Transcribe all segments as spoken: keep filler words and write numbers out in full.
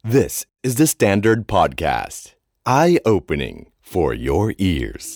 This is the Standard Podcast. Eye-opening for your ears.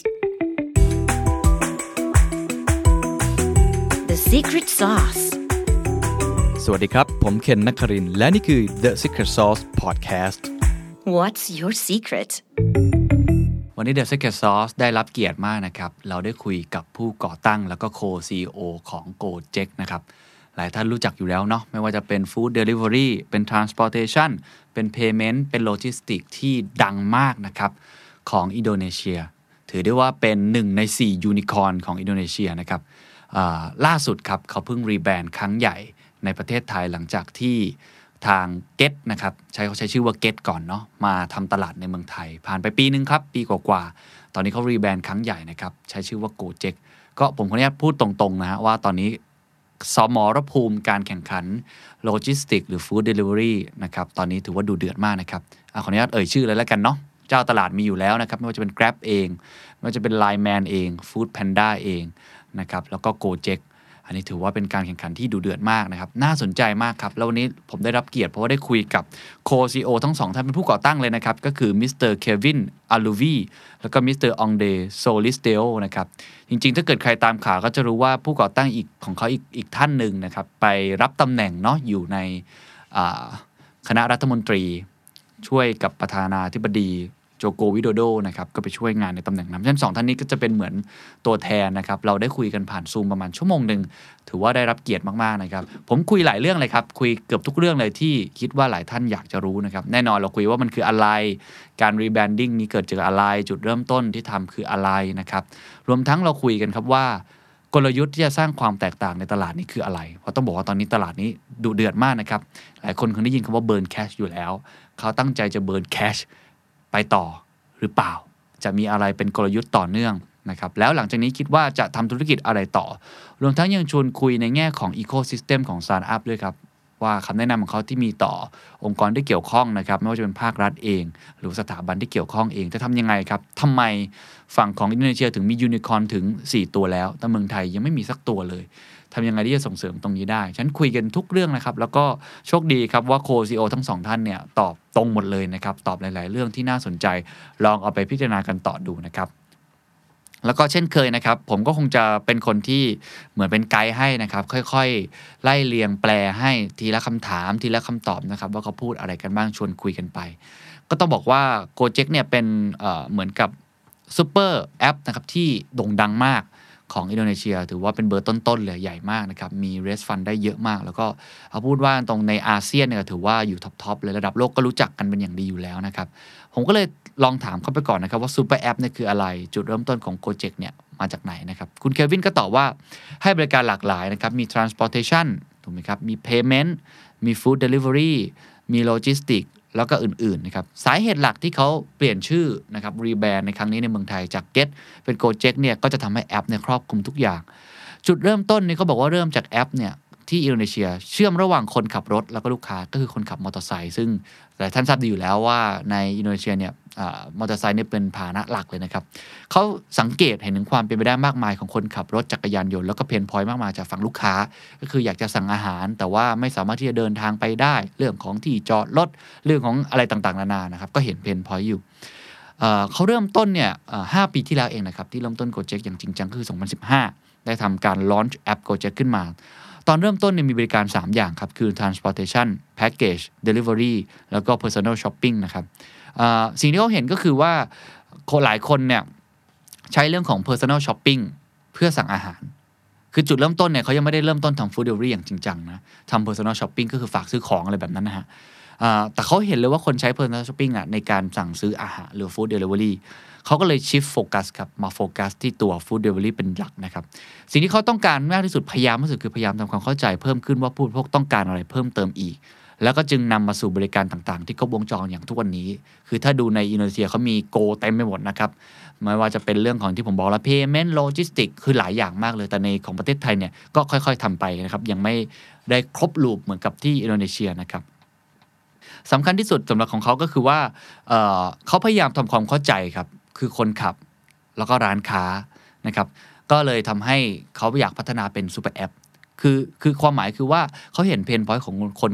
The Secret Sauce. สวัสดีครับผมเคนนครินทร์และนี่คือ The Secret Sauce Podcast. What's your secret? วันนี้ The Secret Sauce ได้รับเกียรติมากนะครับเราได้คุยกับผู้ก่อตั้งแล้วก็ Co-ซี อี โอ ของ Gojek นะครับหลายท่านรู้จักอยู่แล้วเนาะไม่ว่าจะเป็น Food Delivery เป็น Transportation เป็น Payment เป็น Logistics ที่ดังมากนะครับของอินโดนีเซียถือได้ว่าเป็นหนึ่งในสี่ยูนิคอร์นของอินโดนีเซียนะครับล่าสุดครับเขาเพิ่งรีแบรนด์ครั้งใหญ่ในประเทศไทยหลังจากที่ทาง Get นะครับใช้เขาใช้ชื่อว่า Get ก่อนเนาะมาทำตลาดในเมืองไทยผ่านไปปีนึงครับปีกว่าๆตอนนี้เขารีแบรนด์ครั้งใหญ่นะครับใช้ชื่อว่า Gojek ก็ผมขออนุญาตพูดตรงๆนะฮะว่าตอนนี้สมรภูมิการแข่งขันโลจิสติกหรือฟู้ดเดลิเวอรี่นะครับตอนนี้ถือว่าดูเดือดมากนะครับขออนุญาตเอ่ยชื่อเลยแล้วกันเนาะเจ้าตลาดมีอยู่แล้วนะครับไม่ว่าจะเป็น Grab เองไม่ว่าจะเป็น Line Man เอง Food Panda เองนะครับแล้วก็ Gojek อันนี้ถือว่าเป็นการแข่งขันที่ดูเดือดมากนะครับน่าสนใจมากครับแล้ววันนี้ผมได้รับเกียรติเพราะว่าได้คุยกับ Co-ซี อี โอ ทั้งสองท่านเป็นผู้ก่อตั้งเลยนะครับก็คือมิสเตอร์เควินอาลูวีแล้วก็มิสเตอร์องเดโซลิสเตโอนะครับจริงๆถ้าเกิดใครตามข่าวก็จะรู้ว่าผู้ก่อตั้งอีกของเขาอีกอีกท่านหนึ่งนะครับไปรับตำแหน่งเนาะอยู่ในคณะรัฐมนตรีช่วยกับประธานาธิบดีโจโกวิโดโดนะครับก็ไปช่วยงานในตำแหน่งนั้นฉะนั้นสองท่านนี้ก็จะเป็นเหมือนตัวแทนนะครับเราได้คุยกันผ่านซูมประมาณชั่วโมงนึงถือว่าได้รับเกียรติมากๆนะครับผมคุยหลายเรื่องเลยครับคุยเกือบทุกเรื่องเลยที่คิดว่าหลายท่านอยากจะรู้นะครับแน่นอนเราคุยว่ามันคืออะไรการรีแบรนดิ้งนี้เกิดจากอะไรจุดเริ่มต้นที่ทำคืออะไรนะครับรวมทั้งเราคุยกันครับว่ากลยุทธ์ที่จะสร้างความแตกต่างในตลาดนี้คืออะไรเพราะต้องบอกว่าตอนนี้ตลาดนี้ดุเดือดมากนะครับหลายคนเคยได้ยินคำว่าเบิร์นแคชอยู่แล้วเขาตั้งใจจะเบิร์นแคชไปต่อหรือเปล่าจะมีอะไรเป็นกลยุทธ์ต่อเนื่องนะครับแล้วหลังจากนี้คิดว่าจะทำธุรกิจอะไรต่อรวมทั้งยังชวนคุยในแง่ของอีโคซิสเต็มของสตาร์ทอัพด้วยครับว่าคำแนะนำของเขาที่มีต่อองค์กรที่เกี่ยวข้องนะครับไม่ว่าจะเป็นภาครัฐเองหรือสถาบันที่เกี่ยวข้องเองจะทำยังไงครับทำไมฝั่งของอินโดนีเซียถึงมียูนิคอร์นถึงสี่ตัวแล้วแต่เมืองไทยยังไม่มีสักตัวเลยทำยังไงที่จะส่งเสริมตรงนี้ได้ฉันคุยกันทุกเรื่องนะครับแล้วก็โชคดีครับว่าโค ซี อี โอ ทั้งสองท่านเนี่ยตอบตรงหมดเลยนะครับตอบหลายๆเรื่องที่น่าสนใจลองเอาไปพิจารณากันต่อดูนะครับแล้วก็เช่นเคยนะครับผมก็คงจะเป็นคนที่เหมือนเป็นไกด์ให้นะครับค่อยๆไล่เรียงแปลให้ทีละคำถามทีละคำตอบนะครับว่าเขาพูดอะไรกันบ้างชวนคุยกันไปก็ต้องบอกว่า Gojek เนี่ยเป็นเอ่อเหมือนกับซุปเปอร์แอปนะครับที่โด่งดังมากของอินโดนีเซียถือว่าเป็นเบอร์ต้นๆเลยใหญ่มากนะครับมีเรสฟันได้เยอะมากแล้วก็เอาพูดว่าตรงในอาเซียนเนี่ยถือว่าอยู่ท็อปๆเลยระดับโลกก็รู้จักกันเป็นอย่างดีอยู่แล้วนะครับผมก็เลยลองถามเขาไปก่อนนะครับว่าซูเปอร์แอปเนี่ยคืออะไรจุดเริ่มต้นของ Gojek เนี่ยมาจากไหนนะครับคุณเควินก็ตอบว่าให้บริการหลากหลายนะครับมี transportation ถูกไหมครับมี payment มี food delivery มี logisticsแล้วก็อื่นๆนะครับสาเหตุหลักที่เขาเปลี่ยนชื่อนะครับรีแบรนด์ในครั้งนี้ในเมืองไทยจาก Get เป็น Gojek เนี่ยก็จะทำให้แอปเนี่ยครอบคลุมทุกอย่างจุดเริ่มต้นนี่เขาบอกว่าเริ่มจากแอปเนี่ยที่อินโดนีเซียเชื่อมระหว่างคนขับรถแล้วก็ลูกค้าก็คือคนขับมอเตอร์ไซค์ซึ่งหลายท่านทราบดีอยู่แล้วว่าในอินโดนีเซียเนี่ยมอเตอร์ไซค์เนี่ยเป็นพาหนะหลักเลยนะครับเขาสังเกตเห็นถึงความเป็นไปได้มากมายของคนขับรถจักรยานยนต์แล้วก็เพนพอยต์มากมายจากฝั่งลูกค้าก็คืออยากจะสั่งอาหารแต่ว่าไม่สามารถที่จะเดินทางไปได้เรื่องของที่จอดรถเรื่องของอะไรต่างๆนานานะครับก็เห็นเพนพอยต์อยู่เขาเริ่มต้นเนี่ยห้าปีที่แล้วเองนะครับที่เริ่มต้น Gojek อย่างจริงจังคือสองพันสิบห้าได้ทำการลอนช์แอป Gojek ขึ้นมาตอนเริ่มต้นเนี่ยมีบริการสามอย่างครับคือ transportation package delivery แล้วก็ personal shopping นะครับสิ่งที่เขาเห็นก็คือว่าคนหลายคนเนี่ยใช้เรื่องของ personal shopping เพื่อสั่งอาหารคือจุดเริ่มต้นเนี่ยเขายังไม่ได้เริ่มต้นทำ food delivery อย่างจริงจังนะทำ personal shopping ก็คือฝากซื้อของอะไรแบบนั้นนะฮะแต่เขาเห็นเลยว่าคนใช้ personal shopping อ่ะในการสั่งซื้ออาหารหรือ food deliveryเขาก็เลย shift focus ครับมาโฟกัสที่ตัว food delivery เป็นหลักนะครับสิ่งที่เขาต้องการมากที่สุดพยายามที่สุดคือพยายามทำความเข้าใจเพิ่มขึ้นว่าผู้บริโภคต้องการอะไรเพิ่มเติมอีกแล้วก็จึงนำมาสู่บริการต่างๆที่ครบวงจรอย่างทุกวันนี้คือถ้าดูในอินโดนีเซียเขามีโกเต็มไปหมดนะครับไม่ว่าจะเป็นเรื่องของที่ผมบอกแล้ว payment logistics คือหลายอย่างมากเลยแต่ในของประเทศไทยเนี่ยก็ค่อยๆทำไปนะครับยังไม่ได้ครบลูปเหมือนกับที่อินโดนีเซียนะครับสำคัญที่สุดสำหรับของเขาก็คือว่า เอ่อ เขาพยายามทำความเข้าใจครับคือคนขับแล้วก็ร้านค้านะครับก็เลยทำให้เขาอยากพัฒนาเป็นซูเปอร์แอปคือคือความหมายคือว่าเขาเห็นเพนพอยต์ของคนขับ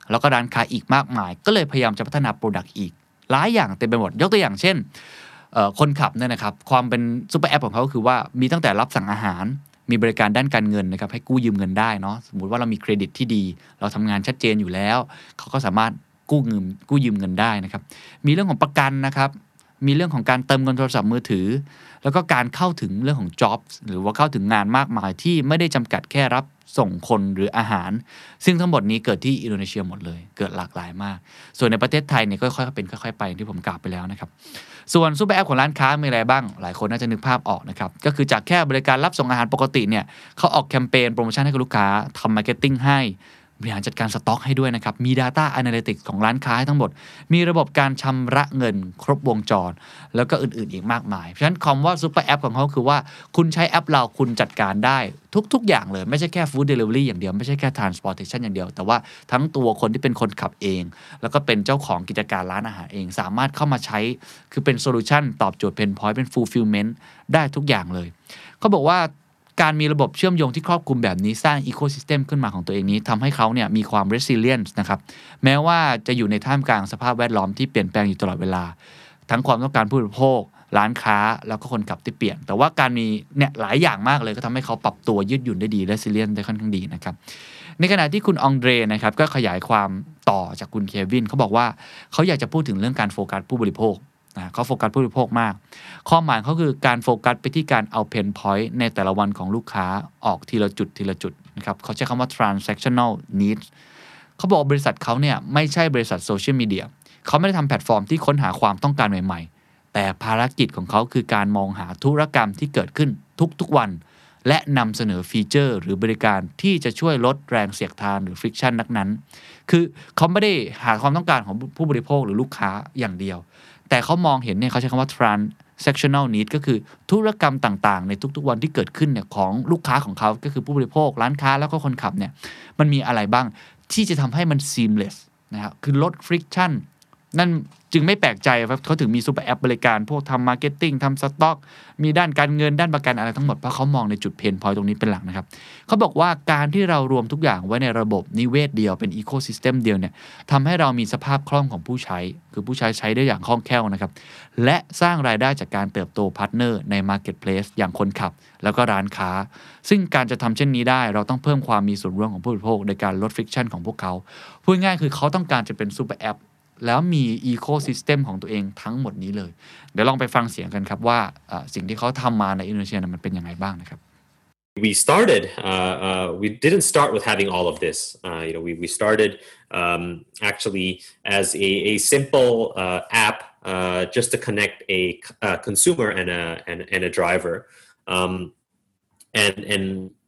แล้วก็ร้านค้าอีกมากมายก็เลยพยายามจะพัฒนาโปรดักต์อีกหลายอย่างเต็มไปหมดยกตัวอย่างเช่นคนขับเนี่ยนะครับความเป็นซุปเปอร์แอปของเขาก็คือว่ามีตั้งแต่รับสั่งอาหารมีบริการด้านการเงินนะครับให้กู้ยืมเงินได้เนาะสมมุติว่าเรามีเครดิตที่ดีเราทำงานชัดเจนอยู่แล้วเขาก็สามารถกู้เงินกู้ยืมเงินได้นะครับมีเรื่องของประกันนะครับมีเรื่องของการเติมเงินโทรศัพท์มือถือแล้วก็การเข้าถึงเรื่องของ jobs หรือว่าเข้าถึงงานมากมายที่ไม่ได้จำกัดแค่รับส่งคนหรืออาหารซึ่งทั้งหมดนี้เกิดที่อินโดนีเซียหมดเลยเกิดหลากหลายมากส่วนในประเทศไทยเนี่ยค่อยๆเป็นค่อยๆไปที่ผมกล่าวไปแล้วนะครับส่วนซูเปอร์แอปของร้านค้ามีอะไรบ้างหลายคนน่าจะนึกภาพออกนะครับก็คือจากแค่บริการรับส่งอาหารปกติเนี่ยเขาออกแคมเปญโปรโมชั่นให้กับลูกค้าทำมาร์เก็ตติ้งให้บริหารจัดการสต็อกให้ด้วยนะครับมี Data Analytics ของร้านค้าให้ทั้งหมดมีระบบการชำระเงินครบวงจรแล้วก็อื่นๆอีกมากมายเพราะฉะนั้นคำว่าซุปเปอร์แอปของเขาคือว่าคุณใช้แอปเราคุณจัดการได้ทุกๆอย่างเลยไม่ใช่แค่ฟู้ดเดลิเวอรี่อย่างเดียวไม่ใช่แค่ transportation อย่างเดียวแต่ว่าทั้งตัวคนที่เป็นคนขับเองแล้วก็เป็นเจ้าของกิจการร้านอาหารเองสามารถเข้ามาใช้คือเป็นโซลูชันตอบโจทย์เพนพอยต์เป็น fulfillment ได้ทุกอย่างเลยเขาบอกว่าการมีระบบเชื่อมโยงที่ครอบคลุมแบบนี้สร้างอีโคซิสเต็มขึ้นมาของตัวเองนี้ทำให้เขาเนี่ยมีความ resilient นะครับแม้ว่าจะอยู่ในท่ามกลางสภาพแวดล้อมที่เปลี่ยนแปลงอยู่ตลอดเวลาทั้งความต้องการผู้บริโภคร้านค้าแล้วก็คนขับที่เปลี่ยนแต่ว่าการมีเนี่ยหลายอย่างมากเลยก็ทำให้เขาปรับตัวยืดหยุ่นได้ดี resilient ได้ค่อนข้างดีนะครับในขณะที่คุณองเดรนะครับก็ขยายความต่อจากคุณเควินเขาบอกว่าเขาอยากจะพูดถึงเรื่องการโฟกัสผู้บริโภคนะเขาโฟกัสผู้บริโภคมากข้อหมายเขาคือการโฟกัสไปที่การเอาเพนพอยต์ในแต่ละวันของลูกค้าออกทีละจุดทีละจุดนะครับเขาใช้คำว่า transactional needs เขาบอกบริษัทเขาเนี่ยไม่ใช่บริษัทโซเชียลมีเดียเขาไม่ได้ทำแพลตฟอร์มที่ค้นหาความต้องการใหม่ๆแต่ภารกิจของเขาคือการมองหาธุรกรรมที่เกิดขึ้นทุกๆวันและนำเสนอฟีเจอร์หรือบริการที่จะช่วยลดแรงเสียดทานหรือ friction นักนั้นคือเขาไม่ได้หาความต้องการของผู้บริโภคหรือลูกค้าอย่างเดียวแต่เขามองเห็นเนี่ยเขาใช้คำว่า transactional need ก็คือธุรกรรมต่างๆในทุกๆวันที่เกิดขึ้นเนี่ยของลูกค้าของเขาก็คือผู้บริโภคร้านค้าแล้วก็คนขับเนี่ยมันมีอะไรบ้างที่จะทำให้มัน seamless นะครับคือลด friction นั่นจึงไม่แปลกใจว่าเขาถึงมีซูเปอร์แอปบริการพวกทำมาร์เก็ตติ้งทำสต็อกมีด้านการเงินด้านประกันอะไรทั้งหมดเพราะเขามองในจุดเพนพอยต์ตรงนี้เป็นหลักนะครับเขาบอกว่าการที่เรารวมทุกอย่างไว้ในระบบนิเวศเดียวเป็นอีโคซิสเต็มเดียวเนี่ยทำให้เรามีสภาพคล่องของผู้ใช้คือผู้ใช้ใช้ได้อย่างคล่องแคล่วนะครับและสร้างรายได้จากการเติบโตพาร์ทเนอร์ในมาร์เก็ตเพลสอย่างคนขับแล้วก็ร้านค้าซึ่งการจะทำเช่นนี้ได้เราต้องเพิ่มความมีส่วนร่วมของผู้บริโภคในการลดฟริกชันของพวกเขาพูดง่ายคือเขาต้องการจะเป็นซูเปอร์แอปแล้วมีอีโคซิสเต็มของตัวเองทั้งหมดนี้เลยเดี๋ยวลองไปฟังเสียงกันครับว่าสิ่งที่เขาทำมาในอินโดนีเซียมันเป็นยังไงบ้างนะครับ We started uh, uh, we didn't start with having all of this uh, you know we we started um, actually as a a simple uh, app uh, just to connect a, a consumer and a and, and a driver um, and and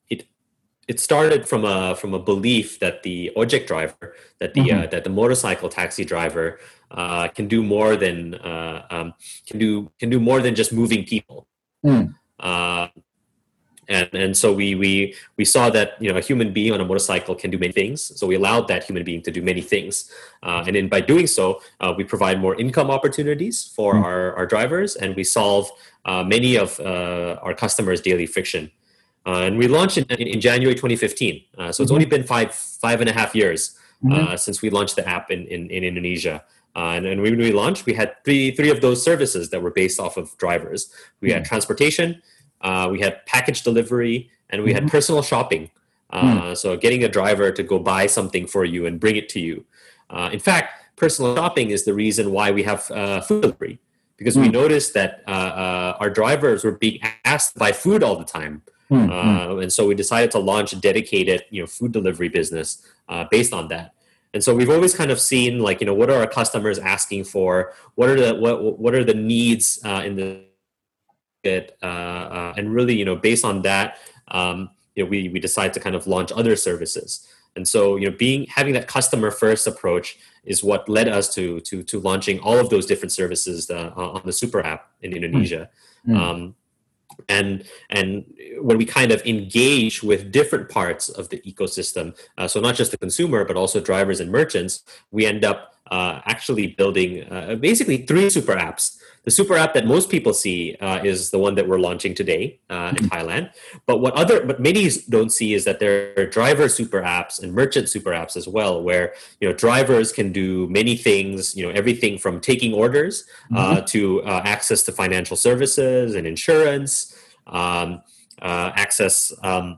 it started from a from a belief that the ojek driver, that the mm-hmm. uh, that the motorcycle taxi driver uh, can do more than uh, um, can do can do more than just moving people. Mm. Uh, and and so we we we saw that you know a human being on a motorcycle can do many things. So we allowed that human being to do many things, uh, and then by doing so, uh, we provide more income opportunities for mm. our our drivers, and we solve uh, many of uh, our customers' daily friction.Uh, and we launched in, in, in January twenty fifteen. Uh, so mm-hmm. it's only been five five and a half years uh, mm-hmm. since we launched the app in, in, in Indonesia. Uh, and, and when we launched, we had three three of those services that were based off of drivers. We mm-hmm. had transportation, uh, we had package delivery, and we mm-hmm. had personal shopping. Uh, mm-hmm. So getting a driver to go buy something for you and bring it to you. Uh, in fact, personal shopping is the reason why we have uh, food delivery, because mm-hmm. we noticed that uh, uh, our drivers were being asked to buy food all the time.Mm-hmm. Uh, and so we decided to launch a dedicated, you know, food delivery business uh, based on that. And so we've always kind of seen, like, you know, what are our customers asking for? What are the what what are the needs uh, in the market? Uh, uh, and really, you know, based on that, um, you know, we we decided to kind of launch other services. And so, you know, being having that customer first approach is what led us to to to launching all of those different services uh, on the Super App in Indonesia. Mm-hmm. Um, And and when we kind of engage with different parts of the ecosystem, uh, so not just the consumer, but also drivers and merchants, we end up uh, actually building uh, basically three super apps. The super app that most people see uh, is the one that we're launching today uh, in Thailand. But what other, but many don't see is that there are driver super apps and merchant super apps as well, where you know drivers can do many things. You know everything from taking orders uh, mm-hmm. to uh, access to financial services and insurance, um, uh, access um,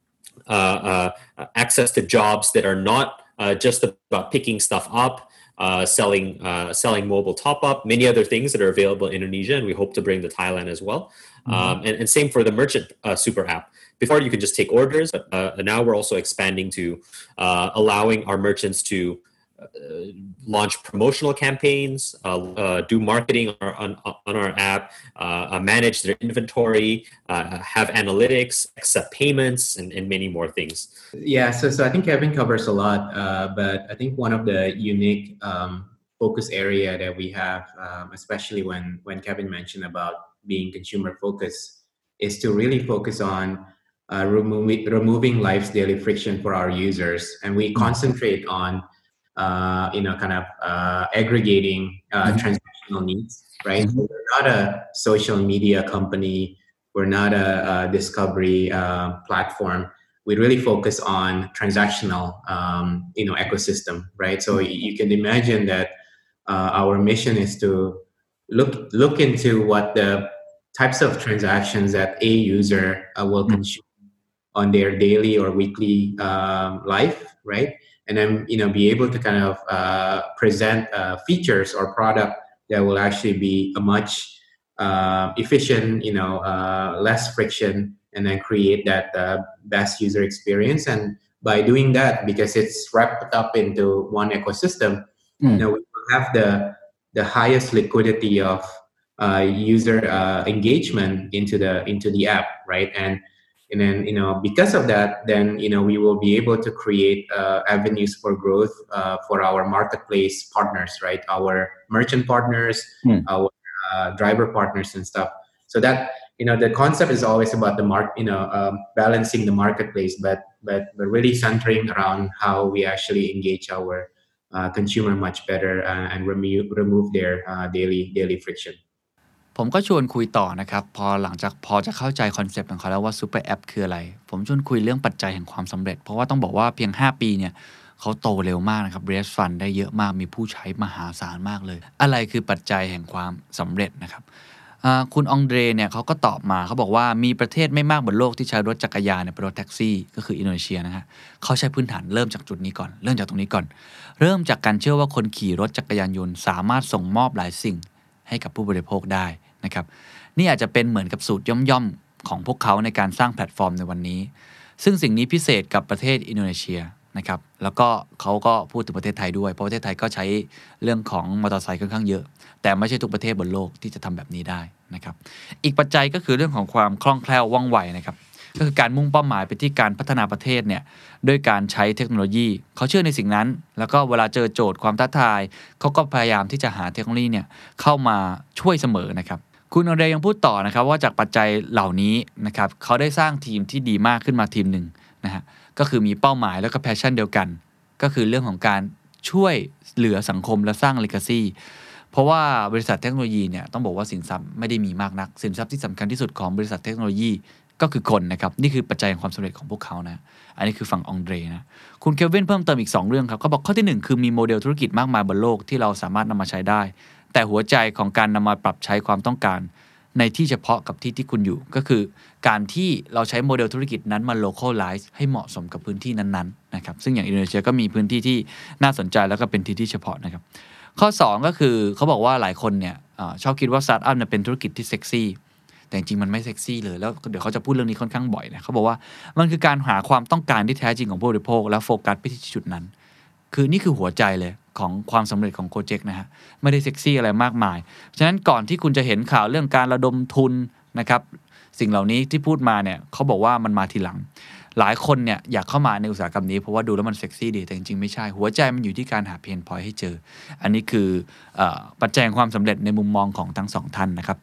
uh, uh, access to jobs that are not uh, just about picking stuff up. Uh, selling uh, selling mobile top-up, many other things that are available in Indonesia, and we hope to bring to Thailand as well. Mm-hmm. Um, and, and same for the merchant uh, super app. Before you could just take orders, but uh, now we're also expanding to uh, allowing our merchants to uh, launch promotional campaigns, uh, uh, do marketing on our, on, on our app, uh, manage their inventory, uh, have analytics, accept payments, and, and many more things. Yeah, so so I think Kevin covers a lot, uh, but I think one of the unique um, focus area that we have, um, especially when when Kevin mentioned about being consumer focused, is to really focus on uh, removing removing life's daily friction for our users, and we concentrate on uh, you know kind of uh, aggregating uh, mm-hmm. transactional needs, right? Mm-hmm. So we're not a social media company, we're not a, a discovery uh, platform. We really focus on transactional, um, you know, ecosystem, right? So you can imagine that uh, our mission is to look look into what the types of transactions that a user uh, will consume on their daily or weekly um, life, right? And then you know be able to kind of uh, present uh, features or product that will actually be a much uh, efficient, you know, uh, less friction. And then create that uh, best user experience. And by doing that, because it's wrapped up into one ecosystem, mm. you know, we will have the the highest liquidity of uh, user uh, engagement into the into the app, right? And and then you know because of that, then you know we will be able to create uh, avenues for growth uh, for our marketplace partners, right? Our merchant partners, mm. our uh, driver partners, and stuff. So that. You know, the concept is always about the mark, you know, um, balancing the marketplace, but but but really centering around how we actually engage our uh, consumer much better uh, and remove remove their uh, daily daily friction. ผมก็ชวนคุยต่อนะครับพอหลังจากพอจะเข้าใจคอนเซปต์ของเขาแล้วว่าซูเปอร์แอปคืออะไรผมชวนคุยเรื่องปัจจัยแห่งความสำเร็จเพราะว่าต้องบอกว่าเพียงห้าปีเนี่ยเขาโตเร็วมากนะครับ raise fund ได้เยอะมากมีผู้ใช้มหาศาลมากเลยอะไรคือปัจจัยแห่งความสำเร็จนะครับคุณองเดรเนี่ยเขาก็ตอบมาเขาบอกว่ามีประเทศไม่มากบนโลกที่ใช้รถจักรยานเป็นรถแท็กซี่ก็คืออินโดนีเซียนะฮะเขาใช้พื้นฐานเริ่มจากจุดนี้ก่อนเริ่มจากตรงนี้ก่อนเริ่มจากการเชื่อว่าคนขี่รถจักรยานยนต์สามารถส่งมอบหลายสิ่งให้กับผู้บริโภคได้นะครับนี่อาจจะเป็นเหมือนกับสูตรย่อมๆของพวกเขาในการสร้างแพลตฟอร์มในวันนี้ซึ่งสิ่งนี้พิเศษกับประเทศอินโดนีเซียนะครับแล้วก็เขาก็พูดถึงประเทศไทยด้วยเพราะประเทศไทยก็ใช้เรื่องของมอเตอร์ไซค์ค่อนข้างเยอะแต่ไม่ใช่ทุกประเทศบนโลกที่จะทำแบบนี้ได้นะครับอีกปัจจัยก็คือเรื่องของความคล่องแคล่วว่องไวนะครับก็คือการมุ่งเป้าหมายไปที่การพัฒนาประเทศเนี่ยด้วยการใช้เทคโนโลยีเขาเชื่อในสิ่งนั้นแล้วก็เวลาเจอโจทย์ความท้าทายเขาก็พยายามที่จะหาเทคโนโลยีเนี่ยเข้ามาช่วยเสมอนะครับคุณอเดยังพูดต่อนะครับว่าจากปัจจัยเหล่านี้นะครับเขาได้สร้างทีมที่ดีมากขึ้นมาทีมหนึ่งนะฮะก็คือมีเป้าหมายแล้วก็แพชชั่นเดียวกันก็คือเรื่องของการช่วยเหลือสังคมและสร้าง legacy เพราะว่าบริษัทเทคโนโลยีเนี่ยต้องบอกว่าสินทรัพย์ไม่ได้มีมากนักสินทรัพย์ที่สำคัญที่สุดของบริษัทเทคโนโลยีก็คือคนนะครับนี่คือปัจจัยแห่งความสำเร็จของพวกเขานะอันนี้คือฝั่งองเดรนะคุณเควินเพิ่มเติมอีกสองเรื่องครับเขาบอกข้อที่หนึ่งคือมีโมเดลธุรกิจมากมายบนโลกที่เราสามารถนำมาใช้ได้แต่หัวใจของการนำมาปรับใช้ความต้องการในที่เฉพาะกับที่ที่คุณอยู่ก็คือการที่เราใช้โมเดลธุรกิจนั้นมา localize ให้เหมาะสมกับพื้นที่นั้นๆนะครับซึ่งอย่างอินโดนีเซียก็มีพื้นที่ที่น่าสนใจแล้วก็เป็นที่ที่เฉพาะนะครับข้อสองก็คือเขาบอกว่าหลายคนเนี่ยชอบคิดว่าสตาร์ทอัพเนี่ยเป็นธุรกิจที่เซ็กซี่แต่จริงๆมันไม่เซ็กซี่เลยแล้วเดี๋ยวเขาจะพูดเรื่องนี้ค่อนข้างบ่อยนะเขาบอกว่ามันคือการหาความต้องการที่แท้จริงของผู้บริโภคแล้วโฟกัสไปที่จุดนั้นคือนี่คือหัวใจเลยของความสำเร็จของโกเจ็กนะฮะไม่ได้เซ็กซี่อะไรมากมายฉะนั้นก่อนที่คุณจะเห็นข่าวเรื่องการระดมทุนนะครับสิ่งเหล่านี้ที่พูดมาเนี่ยเขาบอกว่ามันมาทีหลังหลายคนเนี่ยอยากเข้ามาในอุตสาหกรรมนี้เพราะว่าดูแล้วมันเซ็กซี่ดีแต่จริงๆไม่ใช่หัวใจมันอยู่ที่การหาเพนพอยต์ให้เจออันนี้คือปัจจัยความสำเร็จในมุมมองของทั้งสองท่านนะครับ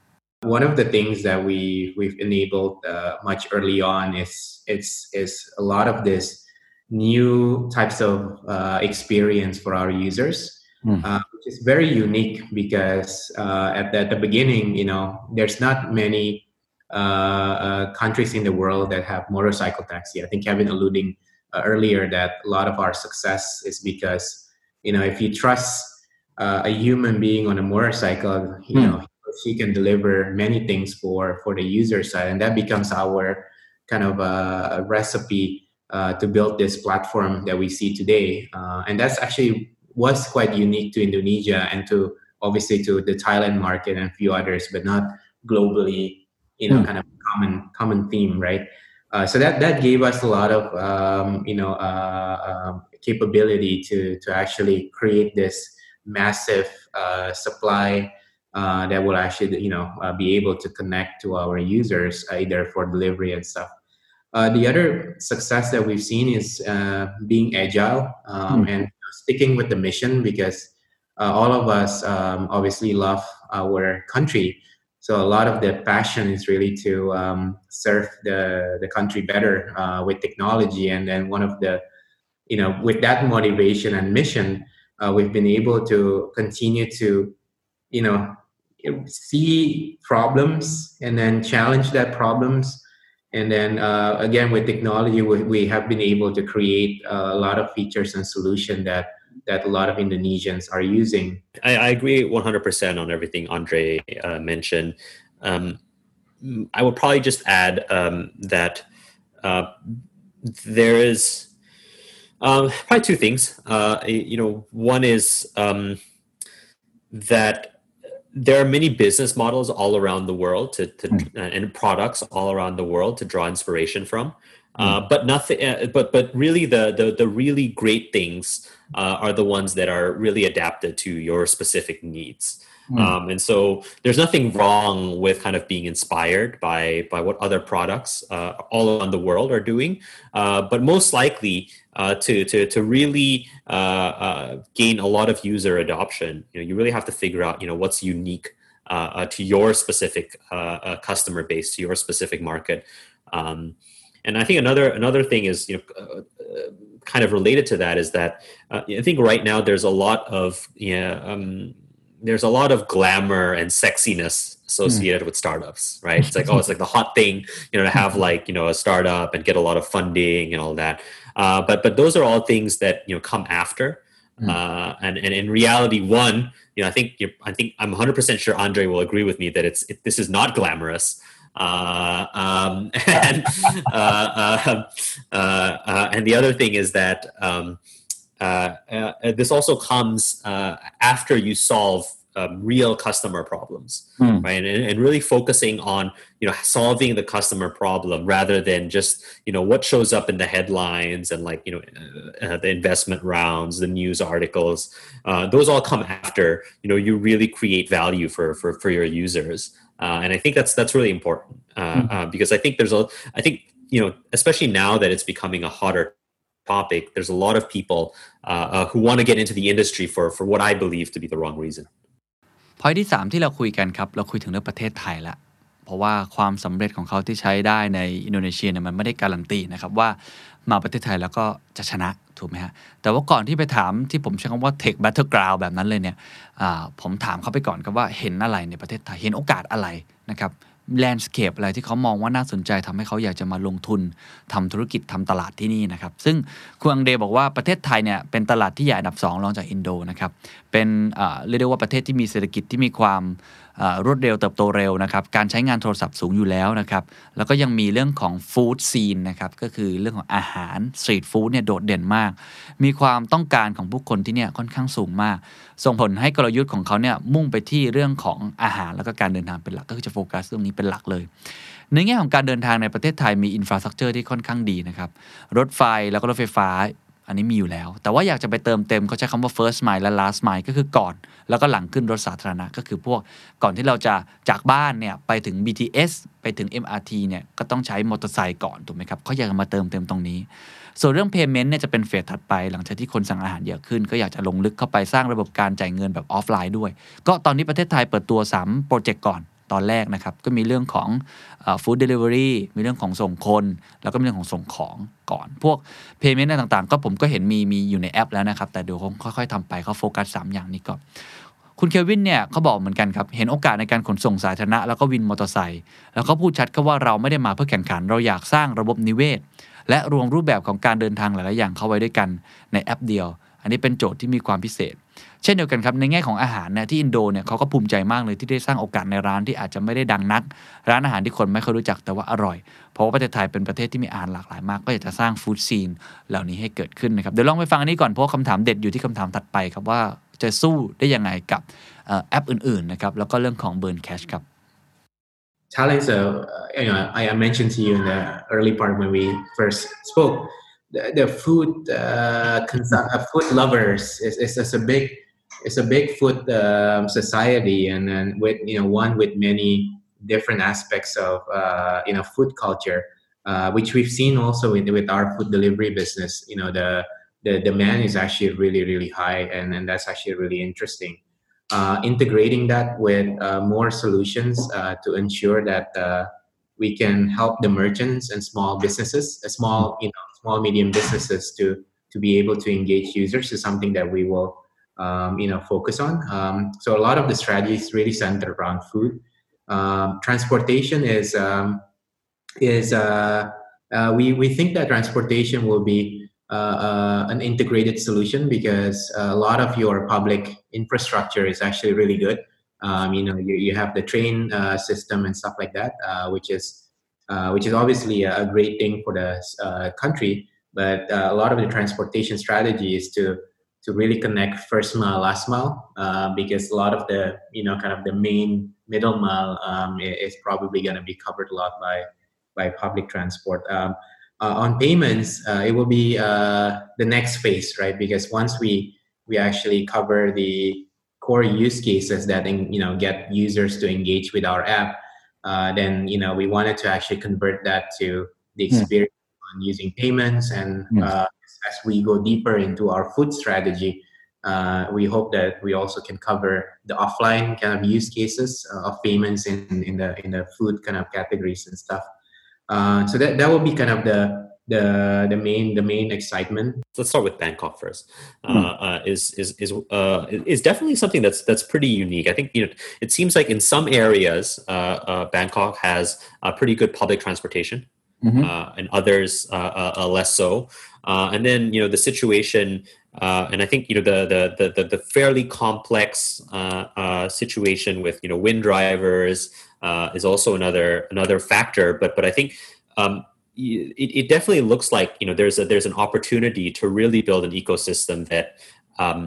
One of the things that we we've enabled uh, much early on is it's is a lot of this new types of uh, experience for our users mm. uh, which is very unique because uh, at, the, at the beginning, you know, there's not many uh, uh, countries in the world that have motorcycle taxi. I think Kevin alluding uh, earlier that a lot of our success is because, you know, if you trust uh, a human being on a motorcycle, you mm. know, she can deliver many things for, for the user side, and that becomes our kind of a, a recipe uh, to build this platform that we see today. Uh, and that's actually was quite unique to Indonesia and to obviously to the Thailand market and a few others, but not globally, you know, mm. kind of common common theme, right? Uh, so that that gave us a lot of um, you know uh, uh, capability to to actually create this massive uh, supply uh, that will actually you know uh, be able to connect to our users either for delivery and stuff. Uh, the other success that we've seen is uh, being agile um, mm. and sticking with the mission, because uh, all of us um, obviously love our country. So a lot of the passion is really to um, serve the, the country better uh, with technology. And then one of the, you know, with that motivation and mission, uh, we've been able to continue to, you know, see problems and then challenge that problems. And then uh, again, with technology, we, we have been able to create uh, a lot of features and solutions that that a lot of Indonesians are using. I, I agree one hundred percent on everything Andre uh, mentioned. Um, I would probably just add um, that uh, there is um, probably two things. Uh, you know, one is um, that there are many business models all around the world to, to mm. uh, and products all around the world to draw inspiration from. Uh, but nothing. Uh, but but really, the the the really great things uh, are the ones that are really adapted to your specific needs. Mm. Um, and so there's nothing wrong with kind of being inspired by by what other products uh, all around the world are doing. Uh, but most likely, uh, to to to really uh, uh, gain a lot of user adoption, you know, you really have to figure out, you know, what's unique uh, uh, to your specific uh, uh, customer base, to your specific market. Um, And I think another another thing is, you know, uh, uh, kind of related to that is that uh, I think right now there's a lot of yeah um, there's a lot of glamour and sexiness associated mm. with startups, right? It's like, oh, it's like the hot thing, you know, to have like, you know, a startup and get a lot of funding and all that. Uh, but but those are all things that, you know, come after. Mm. Uh, and and in reality, one, you know, I think you're, I think I'm one hundred percent sure Andre will agree with me that it's it, this is not glamorous. Uh, um, and uh, uh, uh, uh, and the other thing is that um, uh, uh, this also comes uh, after you solve um, real customer problems, mm. right? And, and really focusing on, you know, solving the customer problem rather than just, you know, what shows up in the headlines and like, you know, uh, uh, the investment rounds, the news articles. Uh, those all come after, you know, you really create value for for for your users. Uh, and I think that's that's really important uh, mm-hmm. uh, because I think there's a I think you know especially now that it's becoming a hotter topic, there's a lot of people uh, uh, who want to get into the industry for for what I believe to be the wrong reason. พอยที่สามที่เราคุยกันครับเราคุยถึงเรื่องประเทศไทยละเพราะว่าความสำเร็จของเขาที่ใช้ได้ในอินโดนีเซียเนี่ยมันไม่ได้การันตีนะครับว่ามาประเทศไทยแล้วก็จะชนะถูกไหมฮะแต่ว่าก่อนที่ไปถามที่ผมใช้คำว่า Tech Battleground แบบนั้นเลยเนี่ยผมถามเขาไปก่อนครับว่าเห็นอะไรในประเทศไทยเห็นโอกาสอะไรนะครับแลนด์สเคปอะไรที่เขามองว่าน่าสนใจทำให้เขาอยากจะมาลงทุนทำธุรกิจทำตลาดที่นี่นะครับซึ่งคุณอังเดบอกว่าประเทศไทยเนี่ยเป็นตลาดที่ใหญ่อันดับสองรองจากอินโดนะครับเป็นเรียกได้ว่าประเทศที่มีเศรษฐกิจที่มีความรวดเร็วเติบโตเร็วนะครับการใช้งานโทรศัพท์สูงอยู่แล้วนะครับแล้วก็ยังมีเรื่องของฟู้ดซีนนะครับก็คือเรื่องของอาหารสตรีทฟู้ดเนี่ยโดดเด่นมากมีความต้องการของผู้คนที่เนี่ยค่อนข้างสูงมากส่งผลให้กลยุทธ์ของเขาเนี่ยมุ่งไปที่เรื่องของอาหารแล้วก็การเดินทางเป็นหลักก็คือจะโฟกัสเรื่องนี้เป็นหลักเลยในแง่ของการเดินทางในประเทศไทยมีอินฟราสตรัคเจอร์ที่ค่อนข้างดีนะครับรถไฟแล้วก็รถไฟฟ้าอันนี้มีอยู่แล้วแต่ว่าอยากจะไปเติมเต็มเขาใช้คำว่า first mile และ last mile ก็คือก่อนแล้วก็หลังขึ้นรถสาธารณะก็คือพวกก่อนที่เราจะจากบ้านเนี่ยไปถึง บี ที เอส ไปถึง เอ็ม อาร์ ที เนี่ยก็ต้องใช้มอเตอร์ไซค์ก่อนถูกไหมครับเขาอยากมาเติมเต็มตรงนี้ส่วนเรื่อง payment เนี่ยจะเป็นเฟสถัดไปหลังจากที่คนสั่งอาหารเยอะขึ้นก็อยากจะลงลึกเข้าไปสร้างระบบการจ่ายเงินแบบออฟไลน์ด้วยก็ตอนนี้ประเทศไทยเปิดตัวสามโปรเจกต์ก่อนตอนแรกนะครับก็มีเรื่องของฟู้ดเดลิเวอรี่มีเรื่องของส่งคนแล้วก็มีเรื่องของส่งของก่อนพวก payment ต่างๆก็ผมก็เห็นมีมีอยู่ในแอปแล้วนะครับแต่เดี๋ยวคงค่อยๆทำไปเขาโฟกัสสามอย่างนี้ก่อนคุณเควินเนี่ยเขาบอกเหมือนกันครับเห็นโอกาสในการขนส่งสาธารณะแล้วก็วินมอเตอร์ไซค์แล้วก็พูดชัดก็ว่าเราไม่ได้มาเพื่อแข่งขันเราอยากสร้างระบบนิเวศและรวมรูปแบบของการเดินทางหลายๆอย่างเข้าไว้ด้วยกันในแอปเดียวอันนี้เป็นโจทย์ที่มีความพิเศษเช่นเดียวกันครับในแง่ของอาหารเนี่ยที่อินโดเนี่ยเขาก็ภูมิใจมากเลยที่ได้สร้างโอกาสในร้านที่อาจจะไม่ได้ดังนักร้านอาหารที่คนไม่ค่อยรู้จักแต่ว่าอร่อยเพราะว่าประเทศไทยเป็นประเทศที่มีอาหารหลากหลายมากก็อยากจะสร้างฟู้ดซีนเหล่านี้ให้เกิดขึ้นนะครับเดี๋ยวลองไปฟังอันนี้ก่อนเพราะคำถามเด็ดอยู่ที่คำถามถัดไปครับว่าจะสู้ได้ยังไงกับแอปอื่นๆนะครับแล้วก็เรื่องของ burn cash ครับ Thailand, so uh, you know, I, I mentioned to you in the early part when we first spoke, the, the food uh, consum- uh, food lovers is, is, is a big it's a big food um, society, and then with you know one with many different aspects of uh, you know food culture, uh, which we've seen also with with our food delivery business. You know the the demand is actually really really high, and and that's actually really interesting. Uh, integrating that with uh, more solutions uh, to ensure that uh, we can help the merchants and small businesses, uh, small you know small medium businesses to to be able to engage users is something that we will um, you know focus on. Um, so a lot of the strategy is really centered around food. Um, transportation is um, is uh, uh, we we think that transportation will be Uh, uh, an integrated solution because uh, a lot of your public infrastructure is actually really good. Um, you know, you, you have the train uh, system and stuff like that, uh, which is uh, which is obviously a great thing for the uh, country. But uh, a lot of the transportation strategy is to to really connect first mile, last mile, uh, because a lot of the you know kind of the main middle mile um, is probably going to be covered a lot by by public transport. Um, Uh, on payments, uh, it will be uh, the next phase, right? Because once we we actually cover the core use cases that you know get users to engage with our app, uh, then you know we wanted to actually convert that to the experience mm. on using payments. And mm. uh, as we go deeper into our food strategy, uh, we hope that we also can cover the offline kind of use cases uh, of payments in in the in the food kind of categories and stuff. Uh, so that, that will be kind of the the the main the main excitement. Let's start with Bangkok first. Uh, mm. uh, is is is uh, is definitely something that's that's pretty unique. I think you know it seems like in some areas uh, uh, Bangkok has a pretty good public transportation, mm-hmm. uh, and others uh, uh, less so. Uh, and then you know the situation, uh, and I think you know the the the the fairly complex uh, uh, situation with you know wind drivers. Uh, is also another another factor, but but I think um, it, it definitely looks like you know there's a, there's an opportunity to really build an ecosystem that um,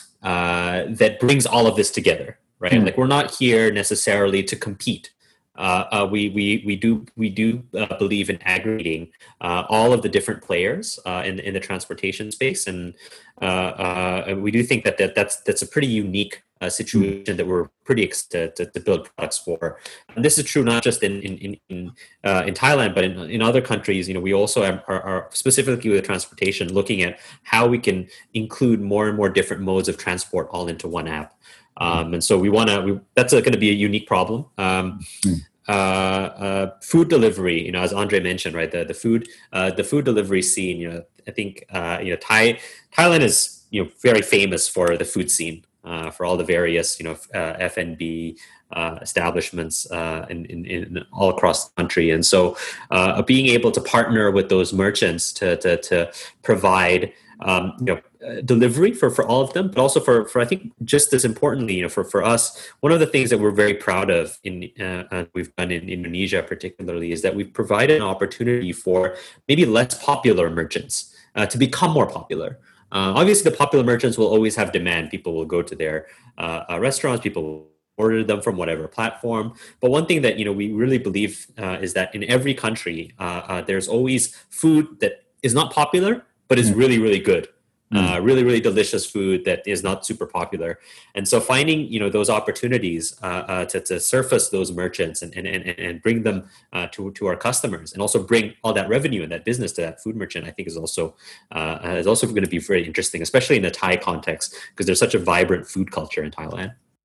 uh, that brings all of this together, right? Mm-hmm. Like we're not here necessarily to compete. Uh, uh, we we we do we do uh, believe in aggregating uh, all of the different players uh, in in the transportation space, and uh, uh, we do think that, that that's that's a pretty unique uh, situation that we're pretty excited to, to build products for. And this is true not just in in in in, uh, in Thailand, but in in other countries. You know, we also are, are, are specifically with transportation looking at how we can include more and more different modes of transport all into one app. Um, and so we want to, that's going to be a unique problem. Um, mm. uh, uh, food delivery, you know, as Andre mentioned, right, the, the food, uh, the food delivery scene, you know, I think, uh, you know, Thai, Thailand is, you know, very famous for the food scene, uh, for all the various, you know, uh, F and B, uh, establishments, uh, in, in, in all across the country. And so, uh, being able to partner with those merchants to, to, to provide, um, you know, uh, delivery for, for all of them, but also for, for, I think just as importantly, you know, for, for us, one of the things that we're very proud of in, uh, uh, we've done in Indonesia particularly is that we've provided an opportunity for maybe less popular merchants uh, to become more popular. Uh, obviously the popular merchants will always have demand. People will go to their uh, uh, restaurants, people will order them from whatever platform. But one thing that, you know, we really believe uh, is that in every country, uh, uh, there's always food that is not popular, but is really, really good. Uh, really, really delicious food that is not super popular. And so finding, you know, those opportunities uh, uh, to, to surface those merchants and, and, and, and bring them uh, to, to our customers and also bring all that revenue and that business to that food merchant, I think is also, uh, is also going to be very interesting, especially in the Thai context, because there's such a vibrant food culture in Thailand.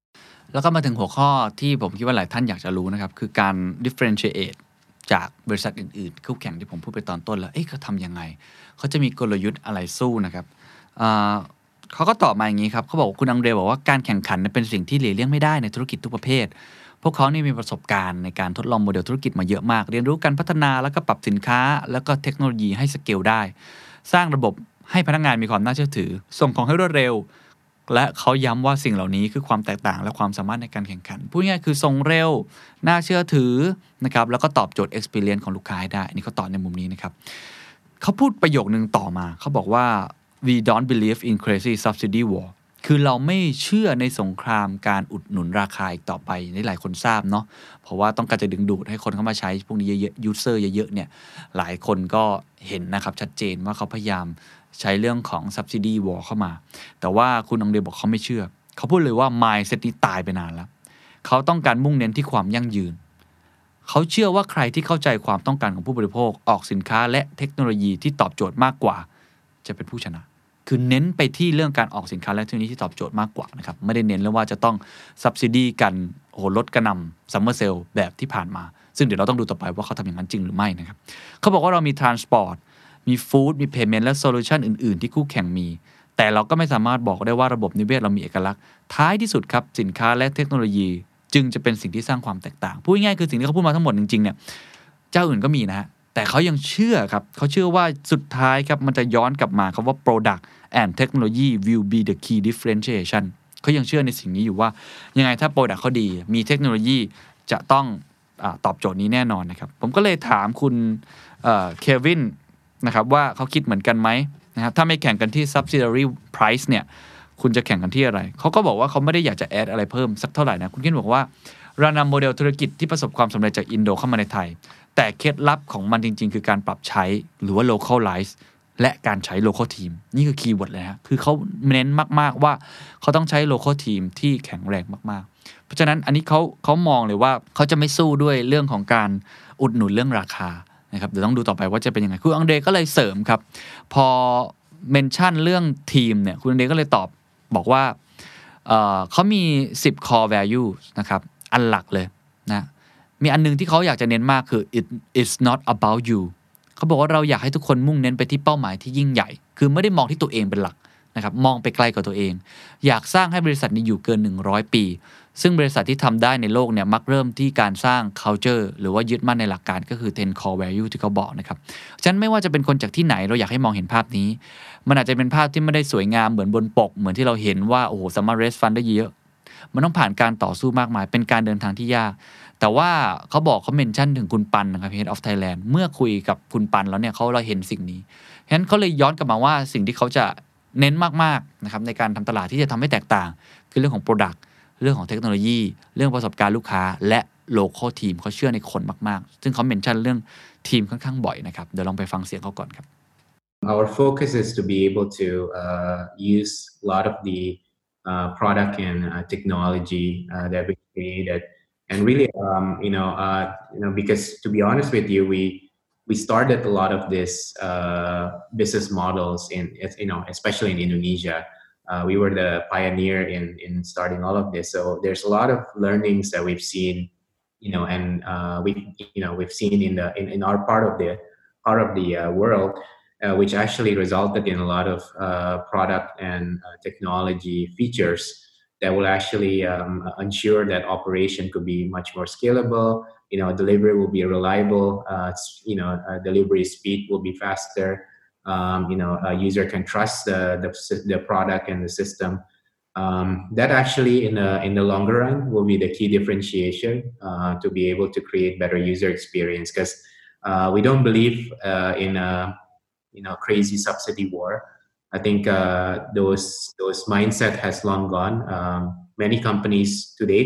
แล้วก็มาถึงหัวข้อที่ผมคิดว่าหลายท่านอยากจะรู้นะครับคือการ differentiate จากบริษัทอื่นๆคู่แข่งที่ผมพูดไปตอนต้นแล้วเอ๊ะเขาทำยังไงเขาจะมีกลยุทธ์อะไรสู้นะครับเขาก็ตอบมาอย่างนี้ครับเขาบอกคุณอังเดรบอกว่าการแข่งขันเป็นสิ่งที่หลีกเลี่ยงไม่ได้ในธุรกิจทุกประเภทพวกเขานี่มีประสบการณ์ในการทดลองโมเดลธุรกิจมาเยอะมากเรียนรู้การพัฒนาแล้วก็ปรับสินค้าแล้วก็เทคโนโลยีให้สเกลได้สร้างระบบให้พนักงานมีความน่าเชื่อถือส่งของให้รวดเร็วและเขาย้ำว่าสิ่งเหล่านี้คือความแตกต่างและความสามารถในการแข่งขันพูดง่ายๆคือส่งเร็วน่าเชื่อถือนะครับแล้วก็ตอบโจทย์ experience ของลูกค้าให้ได้อันนี้เขาตอบในมุมนี้นะครับเขาพูดประโยคนึงต่อมาเขาบอกว่า we don't believe in crazy subsidy war คือเราไม่เชื่อในสงครามการอุดหนุนราคาอีกต่อไปนี่หลายคนทราบเนาะเพราะว่าต้องการจะดึงดูดให้คนเข้ามาใช้พวกนี้เยอะๆ user เยอะๆเนี่ยหลายคนก็เห็นนะครับชัดเจนว่าเขาพยายามใช้เรื่องของ subsidy war เข้ามาแต่ว่าคุณอังเดบอกเขาไม่เชื่อเขาพูดเลยว่า mindset นี้ตายไปนานแล้วเขาต้องการมุ่งเน้นที่ความยั่งยืนเขาเชื่อว่าใครที่เข้าใจความต้องการของผู้บริโภคออกสินค้าและเทคโนโลยีที่ตอบโจทย์มากกว่าจะเป็นผู้ชนะคือเน้นไปที่เรื่องการออกสินค้าและเทคโนโลยีที่ตอบโจทย์มากกว่านะครับไม่ได้เน้นเรื่องว่าจะต้อง subsidy กันโอ้โหลดกระหน่ำ summer sale แบบที่ผ่านมาซึ่งเดี๋ยวเราต้องดูต่อไปว่าเขาทำอย่างนั้นจริงหรือไม่นะครับเขาบอกว่าเรามี transport มี food มี payment และ solution อื่นๆที่คู่แข่งมีแต่เราก็ไม่สามารถบอกได้ว่าระบบนิเวศเรามีเอกลักษณ์ท้ายที่สุดครับสินค้าและเทคโนโลยีจึงจะเป็นสิ่งที่สร้างความแตกต่างพูดง่ายๆคือสิ่งที่เขาพูดมาทั้งหมดจริงๆเนี่ยเจ้าอื่นก็มีนะฮะแต่เขายังเชื่อครับเขาเชื่อว่าสุดท้ายครับมันจะย้อนกลับมาครับว่า product and technology will be the key differentiation เขายังเชื่อในสิ่งนี้อยู่ว่ายังไงถ้า product เขาดีมีเทคโนโลยีจะต้องอ่าตอบโจทย์นี้แน่นอนนะครับผมก็เลยถามคุณเควินนะครับว่าเขาคิดเหมือนกันไหมนะครับถ้าไม่แข่งกันที่ subsidiary price เนี่ยคุณจะแข่งกันที่อะไรเขาก็บอกว่าเขาไม่ได้อยากจะแอดอะไรเพิ่มสักเท่าไหร่นะคุณคิดบอกว่าเรานำโมเดลธุรกิจที่ประสบความสำเร็จจากอินโดเข้ามาในไทยแต่เคล็ดลับของมันจริงๆคือการปรับใช้หรือว่า localize และการใช้ local team นี่คือคีย์เวิร์ดเลยฮะคือเขาเน้นมากๆว่าเขาต้องใช้ local team ที่แข็งแรงมากๆเพราะฉะนั้นอันนี้เขาเขามองเลยว่าเขาจะไม่สู้ด้วยเรื่องของการอุดหนุนเรื่องราคานะครับเดี๋ยวต้องดูต่อไปว่าจะเป็นยังไงคุณอังเดรก็เลยเสริมครับพอเมนชั่นเรื่องทีมเนี่ยคุณอังเดรก็เลยตอบบอกว่า เอ่อเขามีสิบ core value นะครับอันหลักเลยนะมีอันนึงที่เขาอยากจะเน้นมากคือ it is not about you เขาบอกว่าเราอยากให้ทุกคนมุ่งเน้นไปที่เป้าหมายที่ยิ่งใหญ่คือไม่ได้มองที่ตัวเองเป็นหลักนะครับมองไปไกลกว่าตัวเองอยากสร้างให้บริษัทนี้อยู่เกินหนึ่งร้อยปีซึ่งบริษัทที่ทำได้ในโลกเนี่ยมักเริ่มที่การสร้าง culture หรือว่ายึดมั่นในหลักการก็คือ ten core value ที่เขาบอกนะครับฉะนั้นไม่ว่าจะเป็นคนจากที่ไหนเราอยากให้มองเห็นภาพนี้มันอาจจะเป็นภาพที่ไม่ได้สวยงามเหมือนบนปกเหมือนที่เราเห็นว่าโอ้โหสามารถ raise fund ได้เยอะมันต้องผ่านการต่อสู้มากมายเป็นการเดินทางที่ยากแต่ว่าเขาบอกเขาเมนชั่นถึงคุณปันนะครับ Head of Thailand เมื่อคุยกับคุณปันแล้วเนี่ยเขาเราเห็นสิ่งนี้ฉะนั้นเขาเลยย้อนกลับมาว่าสิ่งที่เขาจะเน้นมากๆนะครับในการทำตลาดที่จะทำให้แตกต่างคือเรื่องของ product เรื่องของเทคโนโลยีเรื่องประสบการณ์ลูกค้าและ local team เขาเชื่อในคนมากๆซึ่งเขาเมนชั่นเรื่องทีมค่อนข้างบ่อยนะครับเดี๋ยวลองไปฟังเสียงเขาก่อนครับ Our focus is to be able to uh, use a lot of the uh, product and uh, technology uh, that we created, and really, um, you know, uh, you know, because to be honest with you, we we started a lot of this uh, business models in, you know, especially in Indonesia. Uh, we were the pioneer in in starting all of this, so there's a lot of learnings that we've seen, you know, and uh, we, you know, we've seen in the in, in our part of the part of the uh, world. Uh, which actually resulted in a lot of uh, product and uh, technology features that will actually um, ensure that operation could be much more scalable. You know, delivery will be reliable. Uh, you know, uh, delivery speed will be faster. Um, you know, a user can trust the, the the product and the system. Um, that actually, in the in the longer run, will be the key differentiation uh, to be able to create better user experience. Because uh, we don't believe uh, in a you know crazy subsidy war. I think uh, those those mindset has long gone. Um, many companies today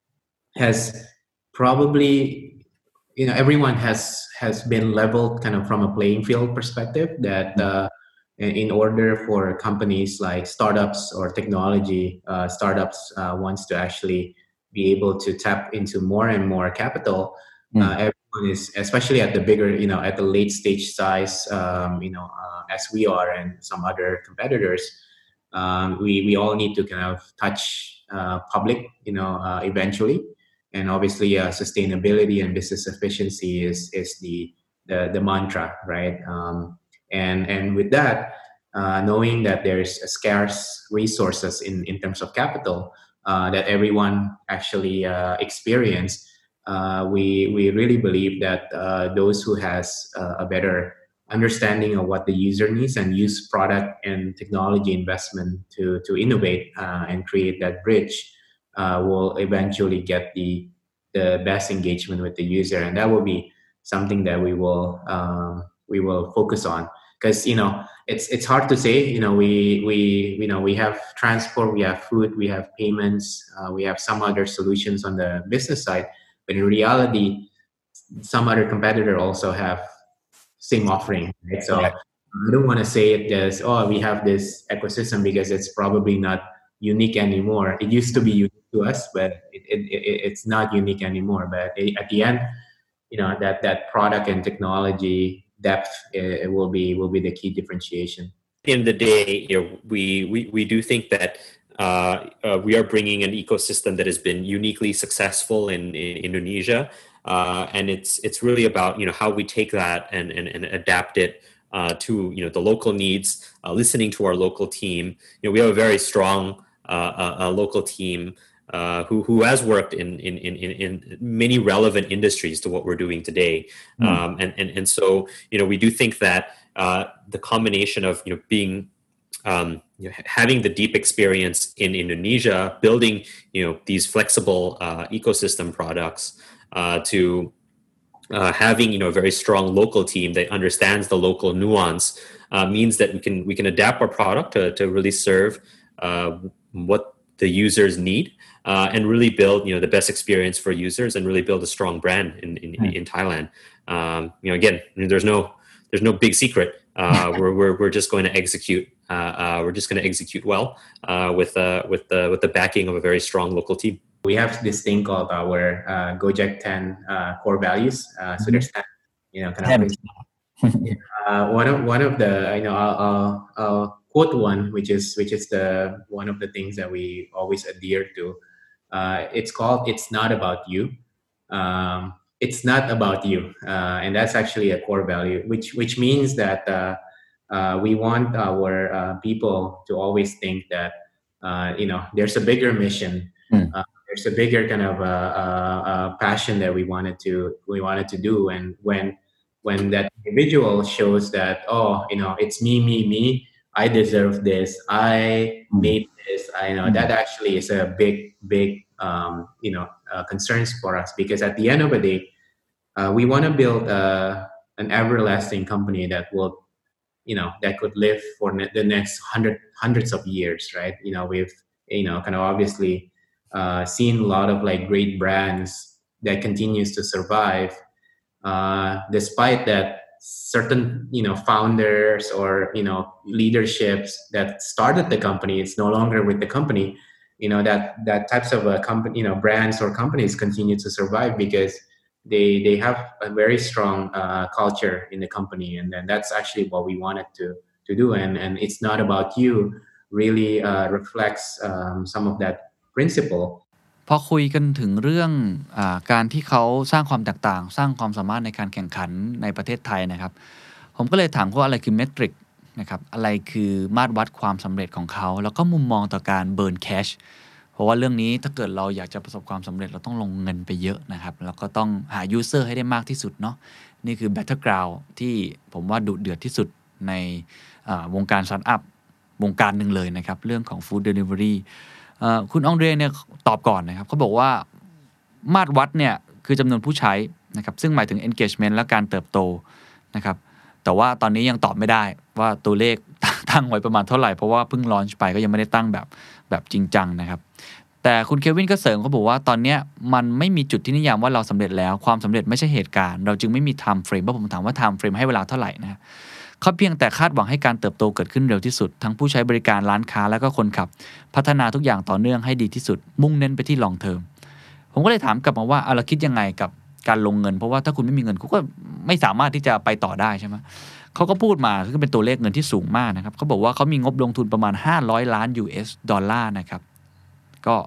has probably you know everyone has has been leveled kind of from a playing field perspective that uh, in order for companies like startups or technology uh, startups uh, wants to actually be able to tap into more and more capital. Mm. Uh, everyone is, especially at the bigger, you know, at the late stage size, um, you know, uh, as we are and some other competitors, um, we we all need to kind of touch uh, public, you know, uh, eventually. And obviously, uh, sustainability and business efficiency is is the the, the mantra, right? Um, and and with that, uh, knowing that there's a scarce resources in in terms of capital uh, that everyone actually uh, experience, uh, we we really believe that uh, those who has uh, a better understanding of what the user needs and use product and technology investment to to innovate uh, and create that bridge uh, will eventually get the the best engagement with the user, and that will be something that we will um, we will focus on. Because you know it's it's hard to say. You know we we you know we have transport, we have food, we have payments, uh, we have some other solutions on the business side, but in reality, some other competitor also have same offering, right? So right. I don't want to say it as, oh, we have this ecosystem, because it's probably not unique anymore. It used to be unique to us, but it, it, it, it's not unique anymore. But at the end, you know, that, that product and technology depth it will be will be the key differentiation. At the end of the day, you know, we we, we do think that uh, uh, we are bringing an ecosystem that has been uniquely successful in, in Indonesia. Uh, and it's it's really about, you know, how we take that and and, and adapt it uh, to, you know, the local needs, uh, listening to our local team. You know, we have a very strong uh, uh, uh, local team uh, who who has worked in, in in in many relevant industries to what we're doing today. Mm. Um, and and and so, you know, we do think that uh, the combination of, you know, being um, you know, having the deep experience in Indonesia, building, you know, these flexible uh, ecosystem products. Uh, to uh, having, you know, a very strong local team that understands the local nuance uh, means that we can we can adapt our product to to really serve uh, what the users need uh, and really build, you know, the best experience for users and really build a strong brand in in, mm. in Thailand. Um, you know, again, there's no there's no big secret. Uh, we're we're we're just going to execute. Uh, uh, we're just going to execute well uh, with uh, with the with the backing of a very strong local team. We have this thing called our uh, Gojek ten uh, core values. Uh, so there's ten, you know, kind of. uh, one of one of the, you know, I'll, I'll, I'll quote one, which is which is the one of the things that we always adhere to. Uh, it's called "It's Not About You." Um, it's not about you, uh, and that's actually a core value, which which means that uh, uh, we want our uh, people to always think that uh, you know there's a bigger mission. Mm. Uh, There's a bigger kind of uh, uh, uh, passion that we wanted to we wanted to do, and when when that individual shows that, oh, you know, it's me, me, me, I deserve this, I made this, I know, that actually is a big, big, um, you know, uh, concerns for us, because at the end of the day, uh, we want to build uh, an everlasting company that will, you know, that could live for ne- the next hundred hundreds of years, right? You know, we've, you know, kind of obviously. Uh, seen a lot of like great brands that continues to survive, uh, despite that certain, you know, founders or, you know, leaderships that started the company, it's no longer with the company. You know, that that types of a company, you know, brands or companies continue to survive because they they have a very strong uh, culture in the company, and then that's actually what we wanted to to do. And and it's not about you really uh, reflects um, some of that principle. พอคุยกันถึงเรื่องอ่าการที่เขาสร้างความแตกต่างสร้างความสามารถในการแข่งขันในประเทศไทยนะครับผมก็เลยถามเขาว่าอะไรคือเมทริกนะครับอะไรคือมาตรวัดความสำเร็จของเขาแล้วก็มุมมองต่อการเบิร์นแคชเพราะว่าเรื่องนี้ถ้าเกิดเราอยากจะประสบความสำเร็จเราต้องลงเงินไปเยอะนะครับแล้วก็ต้องหายูเซอร์ให้ได้มากที่สุดเนาะนี่คือ Battleground ที่ผมว่าดุเดือดที่สุดในวงการสตาร์ทอัพวงการหนึ่งเลยนะครับเรื่องของ Food Deliveryคุณองเดรเนี่ยตอบก่อนนะครับเขาบอกว่ามาตรวัดเนี่ยคือจำนวนผู้ใช้นะครับซึ่งหมายถึง engagement และการเติบโตนะครับแต่ว่าตอนนี้ยังตอบไม่ได้ว่าตัวเลขตั้งไว้ประมาณเท่าไหร่เพราะว่าเพิ่งลอนช์ไปก็ยังไม่ได้ตั้งแบบแบบจริงจังนะครับแต่คุณเควินก็เสริมเขาบอกว่าตอนนี้มันไม่มีจุดที่นิยามว่าเราสำเร็จแล้วความสำเร็จไม่ใช่เหตุการณ์เราจึงไม่มี time frame เพราะผมถามว่า time frame ให้เวลาเท่าไหร่นะเขาเพียงแต่คาดหวังให้การเติบโตเกิดขึ้นเร็วที่สุดทั้งผู้ใช้บริการร้านค้าแล้วก็คนขับพัฒนาทุกอย่างต่อเนื่องให้ดีที่สุดมุ่งเน้นไปที่ long term ผมก็เลยถามกลับมาว่าเราคิดยังไงกับการลงเงินเพราะว่าถ้าคุณไม่มีเงินคุณก็ไม่สามารถที่จะไปต่อได้ใช่ไหมเขาก็พูดมาซึ่งเป็นตัวเลขเงินที่สูงมากนะครับเขาบอกว่าเขามีงบลงทุนประมาณห้าร้อยล้าน ยู เอส ดอลลาร์นะครับก็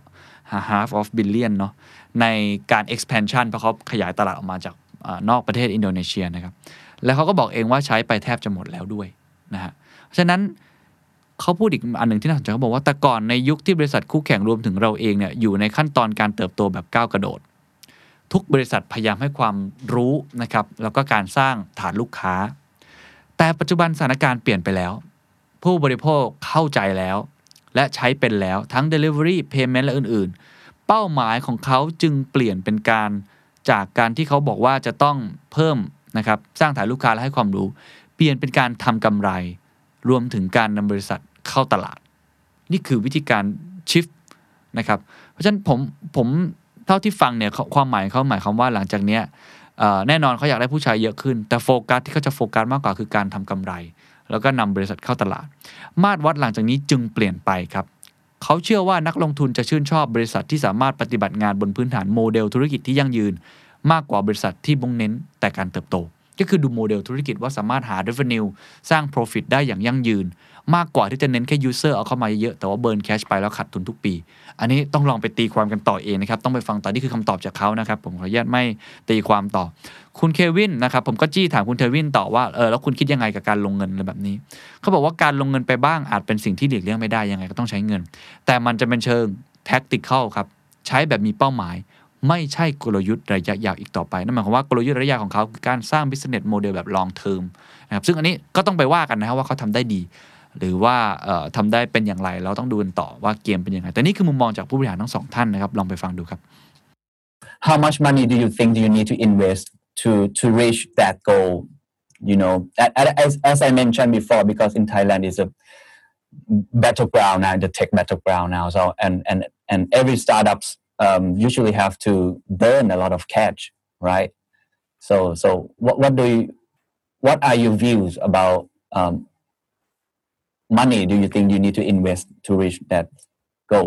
half of billion เนาะในการ expansion เพราะเขาขยายตลาดออกมาจากนอกประเทศอินโดนีเซียนะครับแล้วเขาก็บอกเองว่าใช้ไปแทบจะหมดแล้วด้วยนะฮะฉะนั้นเขาพูดอีกอันหนึ่งที่น่าสนใจเขาบอกว่าแต่ก่อนในยุคที่บริษัทคู่แข่งรวมถึงเราเองเนี่ยอยู่ในขั้นตอนการเติบโตแบบก้าวกระโดดทุกบริษัทพยายามให้ความรู้นะครับแล้วก็การสร้างฐานลูกค้าแต่ปัจจุบันสถานการณ์เปลี่ยนไปแล้วผู้บริโภคเข้าใจแล้วและใช้เป็นแล้วทั้ง delivery payment และอื่นๆเป้าหมายของเขาจึงเปลี่ยนเป็นการจากการที่เขาบอกว่าจะต้องเพิ่มนะครับสร้างฐานลูกค้าและให้ความรู้เปลี่ยนเป็นการทำกำไรรวมถึงการนำบริษัทเข้าตลาดนี่คือวิธีการ shift นะครับเพราะฉะนั้นผมผมเท่าที่ฟังเนี่ยความหมายเขาหมายความว่าหลังจากนี้แน่นอนเขาอยากได้ผู้ใช้เยอะขึ้นแต่โฟกัสที่เขาจะโฟกัสมากกว่าคือการทำกำไรแล้วก็นำบริษัทเข้าตลาดมาตรวัดหลังจากนี้จึงเปลี่ยนไปครับเขาเชื่อว่านักลงทุนจะชื่นชอบบริษัทที่สามารถปฏิบัติงานบนพื้นฐานโมเดลธุรกิจที่ยั่งยืนมากกว่าบริษัทที่มุ่งเน้นแต่การเติบโตก็คือดูโมเดลธุรกิจว่าสามารถหา revenue สร้าง profit ได้อย่างยั่งยืนมากกว่าที่จะเน้นแค่ user เอาเข้ามาเยอะแต่ว่า burn cash ไปแล้วขาดทุนทุกปีอันนี้ต้องลองไปตีความกันต่อเองนะครับต้องไปฟังต่อนี่คือคำตอบจากเขานะครับผมขออนุญาตไม่ตีความต่อคุณเควินนะครับผมก็จี้ถามคุณเควินต่อว่าเออแล้วคุณคิดยังไงกับการลงเงินอะไรแบบนี้เขาบอกว่าการลงเงินไปบ้างอาจเป็นสิ่งที่หลีกเลี่ยงไม่ได้ยังไงก็ต้องใช้เงินแต่มันจะเป็นเชิง tactical ครับใช้แบบมีเป้าหมายไม่ใช่กลยุทธ์ระยะยาวอีกต่อไปนั่นหมายความว่ากลยุทธ์ระยะยาวของเขาคือการสร้าง business model แบบ long term นะครับซึ่งอันนี้ก็ต้องไปว่ากันนะครับว่าเขาทำได้ดีหรือว่าเอ่อทำได้เป็นอย่างไรเราต้องดูกันต่อว่าเกมเป็นยังไงแต่นี่คือมุมมองจากผู้บริหารทั้งสองท่านนะครับลองไปฟังดูครับ How much money do you think do you need to invest to to reach that goal you know as as I mentioned before because in Thailand is a battleground now the tech battleground now so and and and every startups um, usually have to burn a lot of cash right so so what what do you what are your views about um, money do you think you need to invest to reach that goal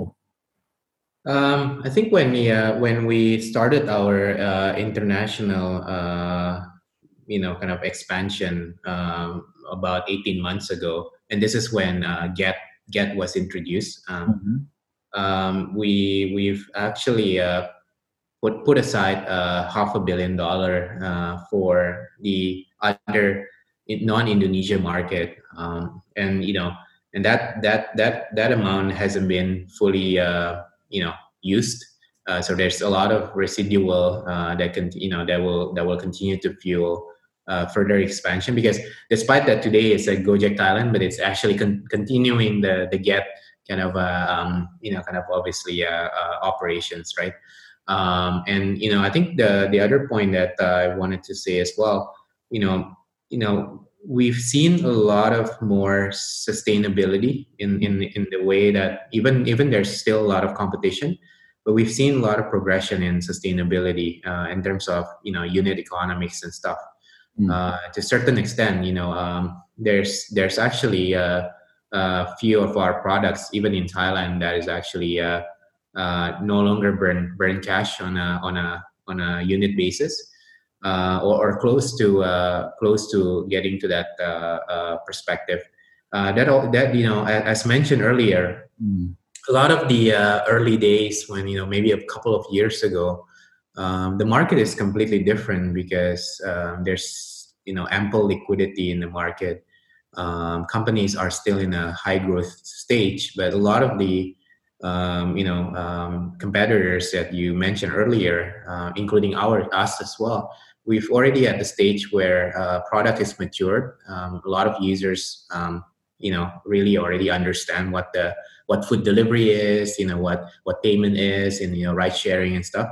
um, I think when we uh, when we started our uh, international uh, you know kind of expansion um, about eighteen months ago and this is when uh, get get was introduced um, mm-hmm. um, we we've actually uh, put put aside uh, half a billion dollar uh, for the other non-Indonesia market um, and you know and that that that that amount hasn't been fully uh, you know used uh, so there's a lot of residual uh, that can you know that will that will continue to fuel uh, further expansion because despite that today it's a Gojek Thailand but it's actually con- continuing the the get kind of uh, um, you know kind of obviously uh, uh, operations right um, and you know I think the the other point that uh, I wanted to say as well you know you know we've seen a lot of more sustainability in, in, in the way that even, even there's still a lot of competition, but we've seen a lot of progression in sustainability uh, in terms of, you know, unit economics and stuff. Mm. Uh, to a certain extent, you know, um, there's, there's actually a, a few of our products, even in Thailand, that is actually uh, uh, no longer burn, burn cash on a, on a, on a unit basis. Uh, or, or close to uh, close to getting to that uh, uh, perspective. Uh, that that you know, as, as mentioned earlier, mm. a lot of the uh, early days when you know maybe a couple of years ago, um, the market is completely different because um, there's you know ample liquidity in the market. Um, companies are still in a high growth stage, but a lot of the um, you know um, competitors that you mentioned earlier, uh, including our us as well. We've already at the stage where uh, product is matured. Um, a lot of users, um, you know, really already understand what the what food delivery is, you know, what what payment is, and you know, ride sharing and stuff.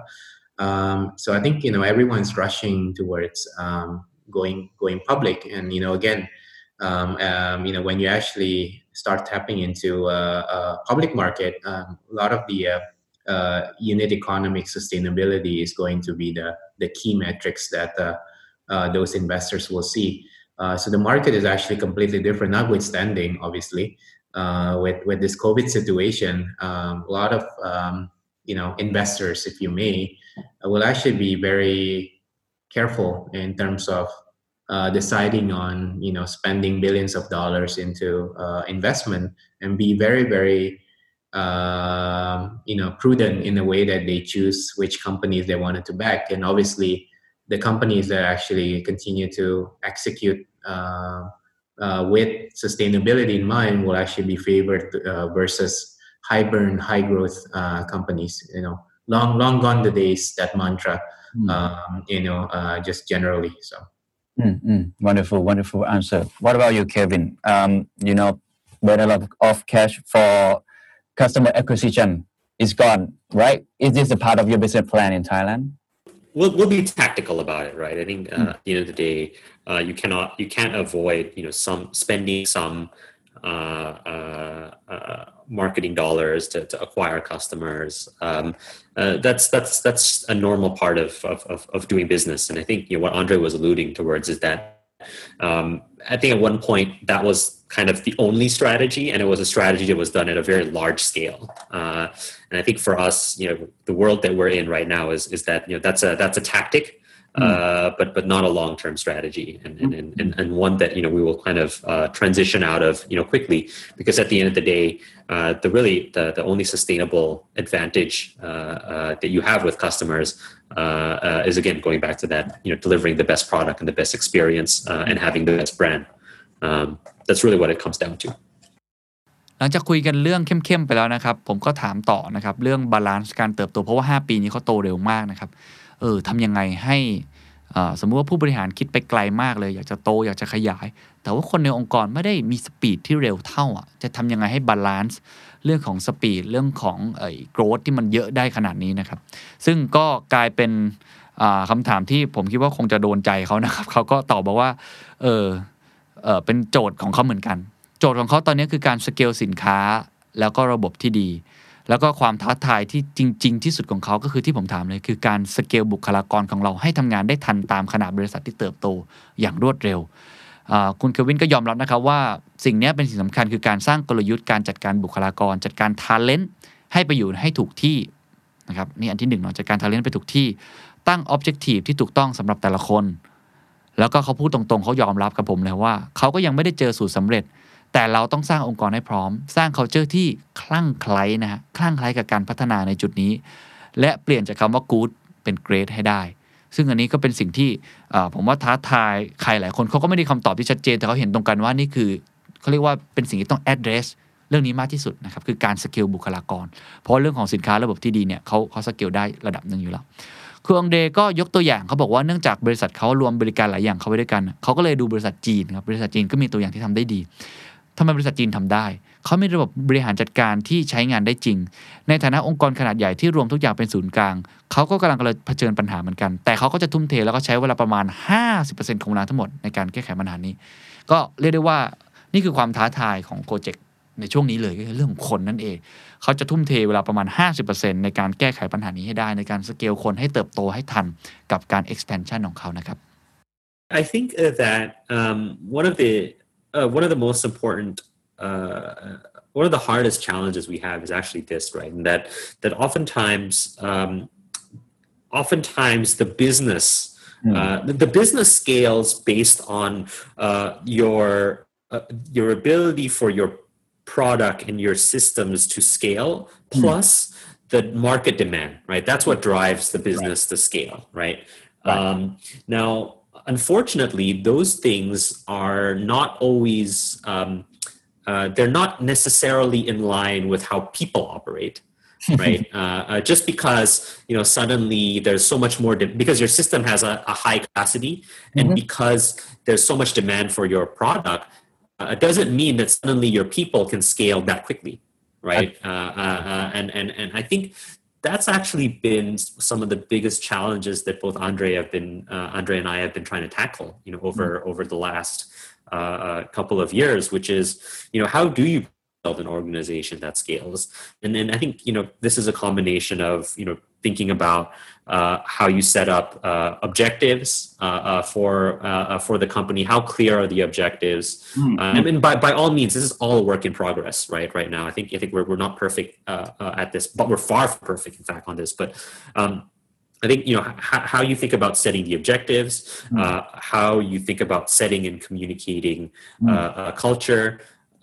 Um, so I think you know everyone's rushing towards um, going going public, and you know, again, um, um, you know, when you actually start tapping into a, a public market, um, a lot of the uh, uh, unit economic sustainability is going to be the the key metrics that uh, uh, those investors will see. Uh, so the market is actually completely different, notwithstanding, obviously, uh, with with this COVID situation. Um, a lot of um, you know investors, if you may, uh, will actually be very careful in terms of uh, deciding on you know spending billions of dollars into uh, investment, and be very very um, you know, prudent in the way that they choose which companies they wanted to back. And obviously, the companies that actually continue to execute uh, uh, with sustainability in mind will actually be favored uh, versus high burn, high growth uh, companies. You know, long, long gone the days, that mantra, mm. um, you know, uh, just generally. So. Mm-hmm. Wonderful, wonderful answer. What about you, Kevin? Um, you know, when a lot of cash for customer acquisition is gone, right? Is this a part of your business plan in Thailand? We'll we'll be tactical about it, right? I think uh, mm. at the end of the day, uh, you cannot you can't avoid you know some spending some uh, uh, uh, marketing dollars to, to acquire customers. Um, uh, that's that's that's a normal part of, of of doing business, and I think you know what Andre was alluding towards is that um, I think at one point that was kind of the only strategy, and it was a strategy that was done at a very large scale. Uh, and I think for us, you know, the world that we're in right now is is that you know that's a that's a tactic, uh, mm. but but not a long term strategy, and and, and and one that you know we will kind of uh, transition out of you know quickly, because at the end of the day, uh, the really the the only sustainable advantage uh, uh, that you have with customers uh, uh, is again going back to that you know delivering the best product and the best experience uh, and having the best brand. Um, that's really what it comes down to. หลังจากคุยกันเรื่องเข้มๆไปแล้วนะครับผมก็ถามต่อนะครับเรื่องบาลานซ์การเติบโตเพราะว่าห้าปีนี้เขาโตเร็วมากนะครับเออทำยังไงให้สมมุติว่าผู้บริหารคิดไปไกลมากเลยอยากจะโตอยากจะขยายแต่ว่าคนในองค์กรไม่ได้มีสปีดที่เร็วเท่าอ่ะจะทำยังไงให้บาลานซ์เรื่องของสปีดเรื่องของไอ้โกรธที่มันเยอะได้ขนาดนี้นะครับซึ่งก็กลายเป็นคำถามที่ผมคิดว่าคงจะโดนใจเขานะครับเขาก็ตอบบอกว่าเออเออเป็นโจทย์ของเขาเหมือนกันโจทย์ของเขาตอนนี้คือการสเกลสินค้าแล้วก็ระบบที่ดีแล้วก็ความท้าทายที่จริงๆที่สุดของเขาก็คือที่ผมถามเลยคือการสเกลบุคลากรของเราให้ทำงานได้ทันตามขนาดบริษัทที่เติบโตอย่างรวดเร็วคุณเควินก็ยอมรับนะครับว่าสิ่งนี้เป็นสิ่งสำคัญคือการสร้างกลยุทธ์การจัดการบุคลากรจัดการ talent ให้ไปอยู่ให้ถูกที่นะครับนี่อันที่หนึ่งเนาะจัดการ talent ไปถูกที่ตั้ง objective ที่ถูกต้องสำหรับแต่ละคนแล้วก็เขาพูดตรงๆเขายอมรับกับผมเลยว่าเขาก็ยังไม่ได้เจอสูตรสำเร็จแต่เราต้องสร้างองค์กรให้พร้อมสร้าง culture ที่คลั่งไคล้นะฮะคลั่งไคล้กับการพัฒนาในจุดนี้และเปลี่ยนจากคำว่า good เป็น great ให้ได้ซึ่งอันนี้ก็เป็นสิ่งที่ผมว่าท้าทายใครหลายคนเขาก็ไม่ได้คำตอบที่ชัดเจนแต่เขาเห็นตรงกันว่านี่คือเขาเรียกว่าเป็นสิ่งที่ต้อง address เรื่องนี้มากที่สุดนะครับคือการสเกลบุคลากรเพราะเรื่องของสินค้าระบบที่ดีเนี่ยเขาเขาสเกลได้ระดับนึงอยู่แล้วคือองเดก็ยกตัวอย่างเขาบอกว่าเนื่องจากบริษัทเขารวมบริการหลายอย่างเข้าไว้ด้วยกันเขาก็เลยดูบริษัทจีนครับบริษัทจีนก็มีตัวอย่างที่ทำได้ดีทำไมบริษัทจีนทำได้เขามีระบบบริหารจัดการที่ใช้งานได้จริงในฐานะองค์กรขนาดใหญ่ที่รวมทุกอย่างเป็นศูนย์กลางเขาก็กำลังเผชิญปัญหาเหมือนกันแต่เขาก็จะทุ่มเทแล้วก็ใช้เวลาประมาณ ห้าสิบเปอร์เซ็นต์ ของเวลาทั้งหมดในการแก้ไขปัญหานี้ก็เรียกได้ว่านี่คือความท้าทายของโปรเจกต์ในช่วงนี้เลยก็คือเรื่องของคนนั่นเองเขาจะทุ่มเทเวลาประมาณ ห้าสิบเปอร์เซ็นต์ ในการแก้ไขปัญหานี้ให้ได้ในการสเกลคนให้เติบโตให้ทันกับการ expansion ของเขานะครับ I think that um, one of the uh, one of the most important uh, one of the hardest challenges we have is actually this, right? And that that oftentimes um, oftentimes the business mm. uh, the, the business scales based on uh, your uh, your ability for your product and your systems to scale plus mm. the market demand, right? That's what drives the business right. to scale, right? right. Um, now, unfortunately, those things are not always, um, uh, they're not necessarily in line with how people operate, right? uh, uh, just because, you know, suddenly there's so much more, de- because your system has a, a high capacity and mm-hmm. because there's so much demand for your product, Uh, it doesn't mean that suddenly your people can scale that quickly, right? Uh, uh, uh, and and and I think that's actually been some of the biggest challenges that both Andre have been, uh, Andre and I have been trying to tackle, you know, over mm-hmm. over the last uh, couple of years, which is, you know, how do you build an organization that scales? And then I think, you know, this is a combination of, you know, thinking about uh, how you set up uh, objectives uh, uh, for uh, for the company. How clear are the objectives? Mm-hmm. Uh, I mean, by by all means, this is all a work in progress, right? Right now, I think I think we're we're not perfect uh, uh, at this, but we're far from perfect, in fact, on this. But um, I think you know h- how you think about setting the objectives, mm-hmm. uh, how you think about setting and communicating mm-hmm. uh, uh, culture.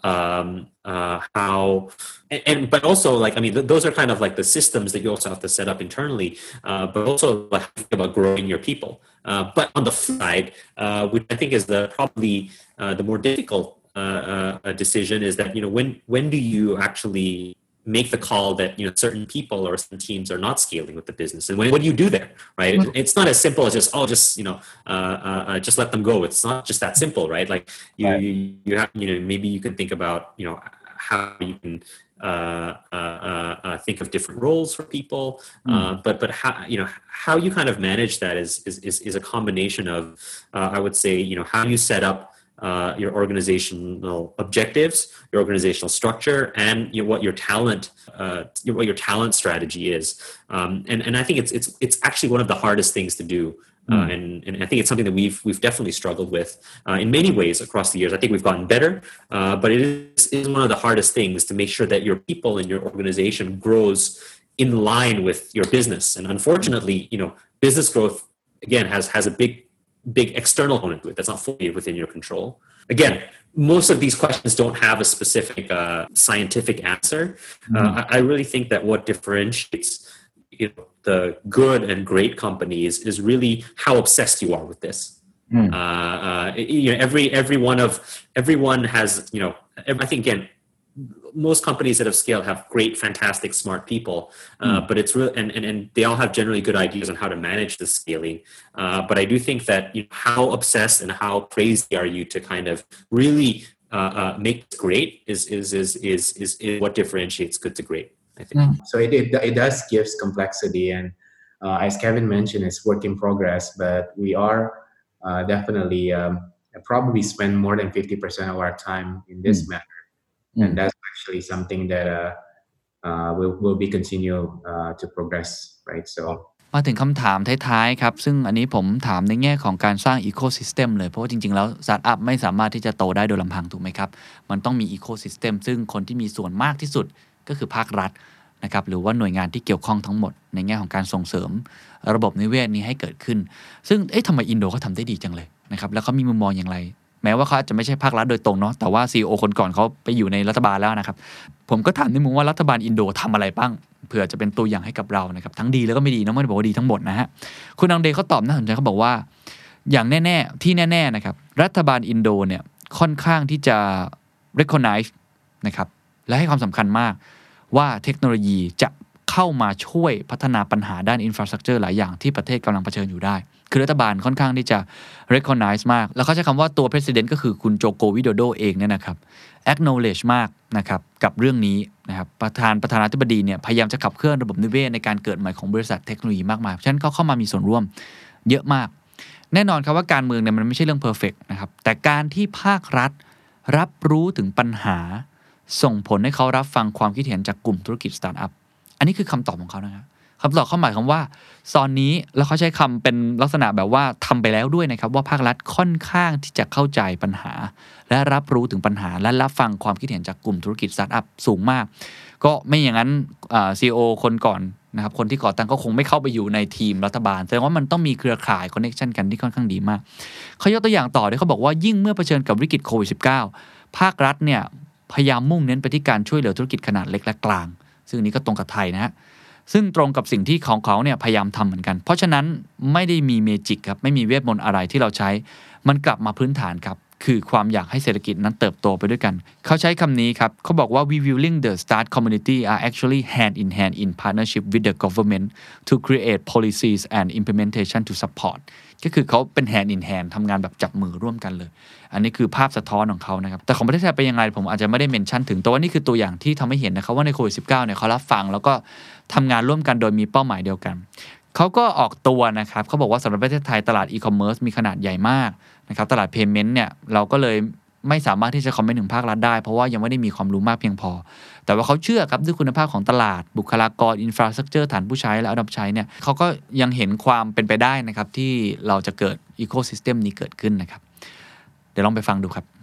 um, uh, how and, and but also like I mean th- those are kind of like the systems that you also have to set up internally, uh, but also like think about growing your people. Uh, but on the flip side, uh, which I think is the probably uh, the more difficult uh, uh, decision is that you know when when do you actually make the call that you know certain people or certain teams are not scaling with the business, and when, what do you do there, right? Mm-hmm. It's not as simple as just oh, just you know, uh, uh, just let them go. It's not just that simple, right? Like you, right. you, you have you know maybe you can think about you know how you can uh, uh, uh, think of different roles for people, mm. uh, but but how you know how you kind of manage that is is is, is a combination of uh, I would say you know how you set up. Uh, your organizational objectives, your organizational structure, and you know, what your talent, uh, what your talent strategy is. Um, and and I think it's it's it's actually one of the hardest things to do. Uh, mm. and, and I think it's something that we've we've definitely struggled with uh, in many ways across the years. I think we've gotten better, uh, but it is, is one of the hardest things to make sure that your people and your organization grows in line with your business. And unfortunately, you know, business growth again has has a big big external component to it that's not fully within your control. Again, most of these questions don't have a specific uh, scientific answer. Mm-hmm. Uh, I, I really think that what differentiates you know, the good and great companies is really how obsessed you are with this. Mm. Uh, uh, you know, every every one of everyone has you know. I think again. Most companies that have scaled have great, fantastic, smart people, uh, mm. but it's real, and, and and they all have generally good ideas on how to manage the scaling. Uh, but I do think that you know, how obsessed and how crazy are you to kind of really uh, uh, make it great is is, is is is is what differentiates good to great. I think. Mm. So it, it it does gives complexity, and uh, as Kevin mentioned, it's work in progress. But we are uh, definitely um, probably spend more than fifty percent of our time in this mm. matter. And that's actually something that uh, uh, will will be continue uh, to progress, right? So มาถึงคำถามท้ายๆครับซึ่งอันนี้ผมถามในแง่ของการสร้างอีโคซิสเต็มเลยเพราะว่าจริงๆแล้วสตาร์ทอัพไม่สามารถที่จะโตได้โดยลำพังถูกไหมครับมันต้องมีอีโคซิสเต็มซึ่งคนที่มีส่วนมากที่สุดก็คือภาครัฐนะครับหรือว่าหน่วยงานที่เกี่ยวข้องทั้งหมดในแง่ของการส่งเสริมระบบนิเวศนี้ให้เกิดขึ้นซึ่งเอ๊ะทำไมอินโดเขาทำได้ดีจังเลยนะครับแล้วเขามีมุมมองอย่างไรแม้ว่าเขาอาจจะไม่ใช่ภาครัฐโดยตรงเนาะแต่ว่า ซี อี โอ คนก่อนเขาไปอยู่ในรัฐบาลแล้วนะครับผมก็ถามในมุมว่ารัฐบาลอินโดทำอะไรบ้างเผื่อจะเป็นตัวอย่างให้กับเรานะครับทั้งดีแล้วก็ไม่ดีนะไม่ได้บอกว่าดีทั้งหมดนะฮะคุณอังเดเขาตอบน่าสนใจเขาบอกว่าอย่างแน่ๆที่แน่ๆนะครับรัฐบาลอินโดเนี่ยค่อนข้างที่จะ recognize นะครับและให้ความสำคัญมากว่าเทคโนโลยีจะเข้ามาช่วยพัฒนาปัญหาด้าน infrastructure หลายอย่างที่ประเทศกำลังเผชิญอยู่ได้คือรัฐบาลค่อนข้างที่จะ recognize มากแล้วเขาใช้คำว่าตัว president ก็คือคุณโจโกวิโดโดเองเนี่ยนะครับ acknowledge มากนะครับกับเรื่องนี้นะครับประธานประธานาธิบดีเนี่ยพยายามจะขับเคลื่อนระบบนิเวศในการเกิดใหม่ของบริษัทเทคโนโลยีมากมายเพราะฉะนั้นเขาเข้ามามีส่วนร่วมเยอะมากแน่นอนครับว่าการเมืองเนี่ยมันไม่ใช่เรื่อง perfect นะครับแต่การที่ภาครัฐรับรู้ถึงปัญหาส่งผลให้เขารับฟังความคิดเห็นจากกลุ่มธุรกิจสตาร์ทอัพอันนี้คือคำตอบของเขานะครับคำตอบเขาหมายความว่าตอนนี้แล้วเขาใช้คำเป็นลักษณะแบบว่าทำไปแล้วด้วยนะครับว่าภาครัฐค่อนข้างที่จะเข้าใจปัญหาและรับรู้ถึงปัญหาและรับฟังความคิดเห็นจากกลุ่มธุรกิจสตาร์ทอัพสูงมากก็ไม่อย่างนั้นอ่า ซี อี โอ คนก่อนนะครับคนที่ก่อตั้งก็คงไม่เข้าไปอยู่ในทีมรัฐบาลแสดงว่ามันต้องมีเครือข่ายคอนเนคชั่นกันที่ค่อนข้างดีมากเขายกตัวอย่างต่อด้วยเขาบอกว่ายิ่งเมื่อเผชิญกับวิกฤตโควิด สิบเก้า ภาครัฐเนี่ยพยายามมุ่งเน้นไปที่การช่วยเหลือธุรกิจขนาดเล็กและกลางซึ่งนี้ก็ตรงกับไทยนะฮะซึ่งตรงกับสิ่งที่ของเขาเนี่ยพยายามทำเหมือนกันเพราะฉะนั้นไม่ได้มีเมจิกครับไม่มีเวทมนต์อะไรที่เราใช้มันกลับมาพื้นฐานครับคือความอยากให้เศรษฐกิจนั้นเติบโตไปด้วยกันเขาใช้คำนี้ครับเขาบอกว่า we willing the start community are actually hand in hand in partnership with the government to create policies and implementation to support ก็คือเขาเป็น hand in hand ทำงานแบบจับมือร่วมกันเลยอันนี้คือภาพสะท้อนของเขานะครับแต่ของประเทศไทยเป็นยังไงผมอาจจะไม่ได้เมนชั่นถึงแต่ว่านี่คือตัวอย่างที่ทำให้เห็นนะครับว่าในโควิด สิบเก้า เนี่ยเขารับฟังแล้วก็ทำงานร่วมกันโดยมีเป้าหมายเดียวกันเขาก็ออกตัวนะครับเขาบอกว่าสำหรับประเทศไทยตลาดอีคอมเมิร์ซมีขนาดใหญ่มากนะครับตลาดเพย์เมนต์เนี่ยเราก็เลยไม่สามารถที่จะคอมเมนต์ถึงภาครัฐได้เพราะว่ายังไม่ได้มีความรู้มากเพียงพอแต่ว่าเขาเชื่อครับด้วยคุณภาพของตลาดบุคลากรอินฟราสตรัคเจอร์ฐานผู้ใช้และอัดใช้เนี่ยเขาก็ยังเห็นความเป็นไปได้นะครับที่เราจะเกิดอีโคซิสเต็มนี้เกิดขึ้นนะครับเดี๋ยวลองไปฟังดูครับ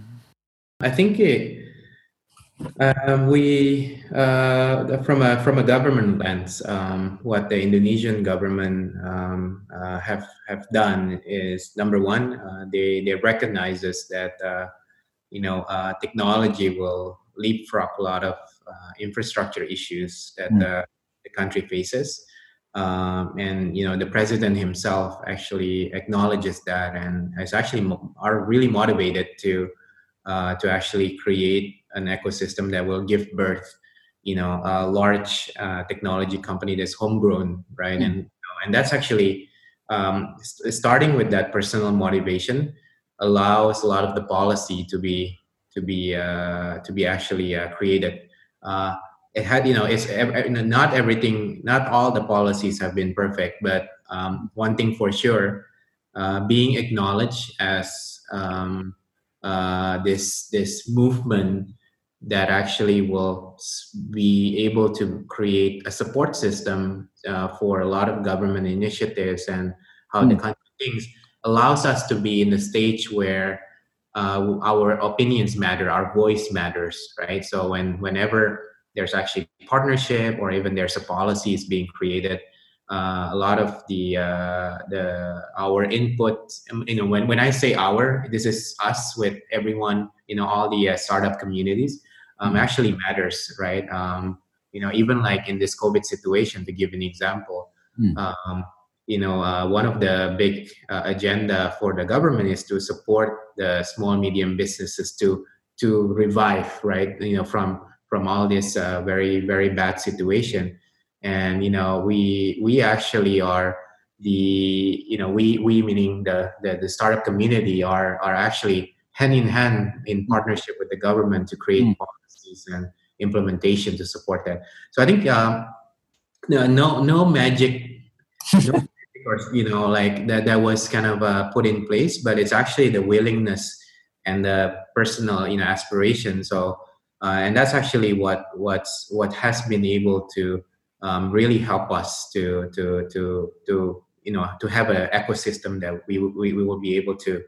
I think it, uh, we uh, from a from a government lens um, what the Indonesian government um, uh, have have done is number one uh, they they recognizes that uh, you know, uh, technology will leapfrog a lot of uh, infrastructure issues that Mm. the, the country faces. Um, and you know, the president himself actually acknowledges that, and is actually mo- are really motivated to uh, to actually create an ecosystem that will give birth, you know, a large uh, technology company that's homegrown, right? Mm. And you know, and that's actually um, st- starting with that personal motivation allows a lot of the policy to be to be uh, to be actually uh, created. Uh, it had, you know, it's ev- ev- not everything, not all the policies have been perfect, but um, one thing for sure, uh, being acknowledged as um, uh, this this movement that actually will s- be able to create a support system uh, for a lot of government initiatives and how the Mm. country thinks, allows us to be in the stage where uh, our opinions matter, our voice matters, right? So when whenever there's actually partnership or even there's a policy is being created, uh, a lot of the uh, the our input, um, you know, when, when I say our, this is us with everyone, you know, all the uh, startup communities, um, Mm. actually matters, right? Um, you know, even like in this COVID situation, to give an example, Mm. um, you know, uh, one of the big uh, agenda for the government is to support the small medium businesses to to revive, right? You know, from from all this uh, very very bad situation, and you know, we we actually are the, you know, we we meaning the the, the startup community are are actually hand in hand in partnership with the government to create Mm. policies and implementation to support that. So I think um, no no no magic, no magic or you know, like that that was kind of uh, put in place, but it's actually the willingness and the personal, you know, aspiration. So uh, and that's actually what what's what has been able to um, really help us to to to to you know, to have an ecosystem that we we, we will be able to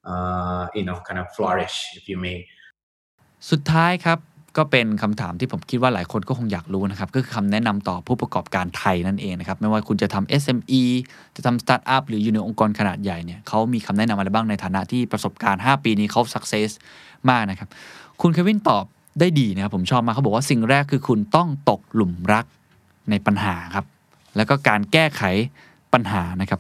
uh, you know, kind of flourish, if you may. สุดท้ายครับก็เป็นคำถามที่ผมคิดว่าหลายคนก็คงอยากรู้นะครับก็คือคำแนะนำต่อผู้ประกอบการไทยนั่นเองนะครับไม่ว่าคุณจะทำ เอส เอ็ม อี จะทำสตาร์ทอัพหรืออยู่ในองค์กรขนาดใหญ่เนี่ยเขามีคำแนะนำอะไรบ้างในฐานะที่ประสบการณ์ห้าปีนี้เขา success มากนะครับคุณเควินตอบได้ดีนะครับผมชอบมากเขาบอกว่าสิ่งแรกคือคุณต้องตกหลุมรักในปัญหาครับแล้วก็การแก้ไขปัญหานะครับ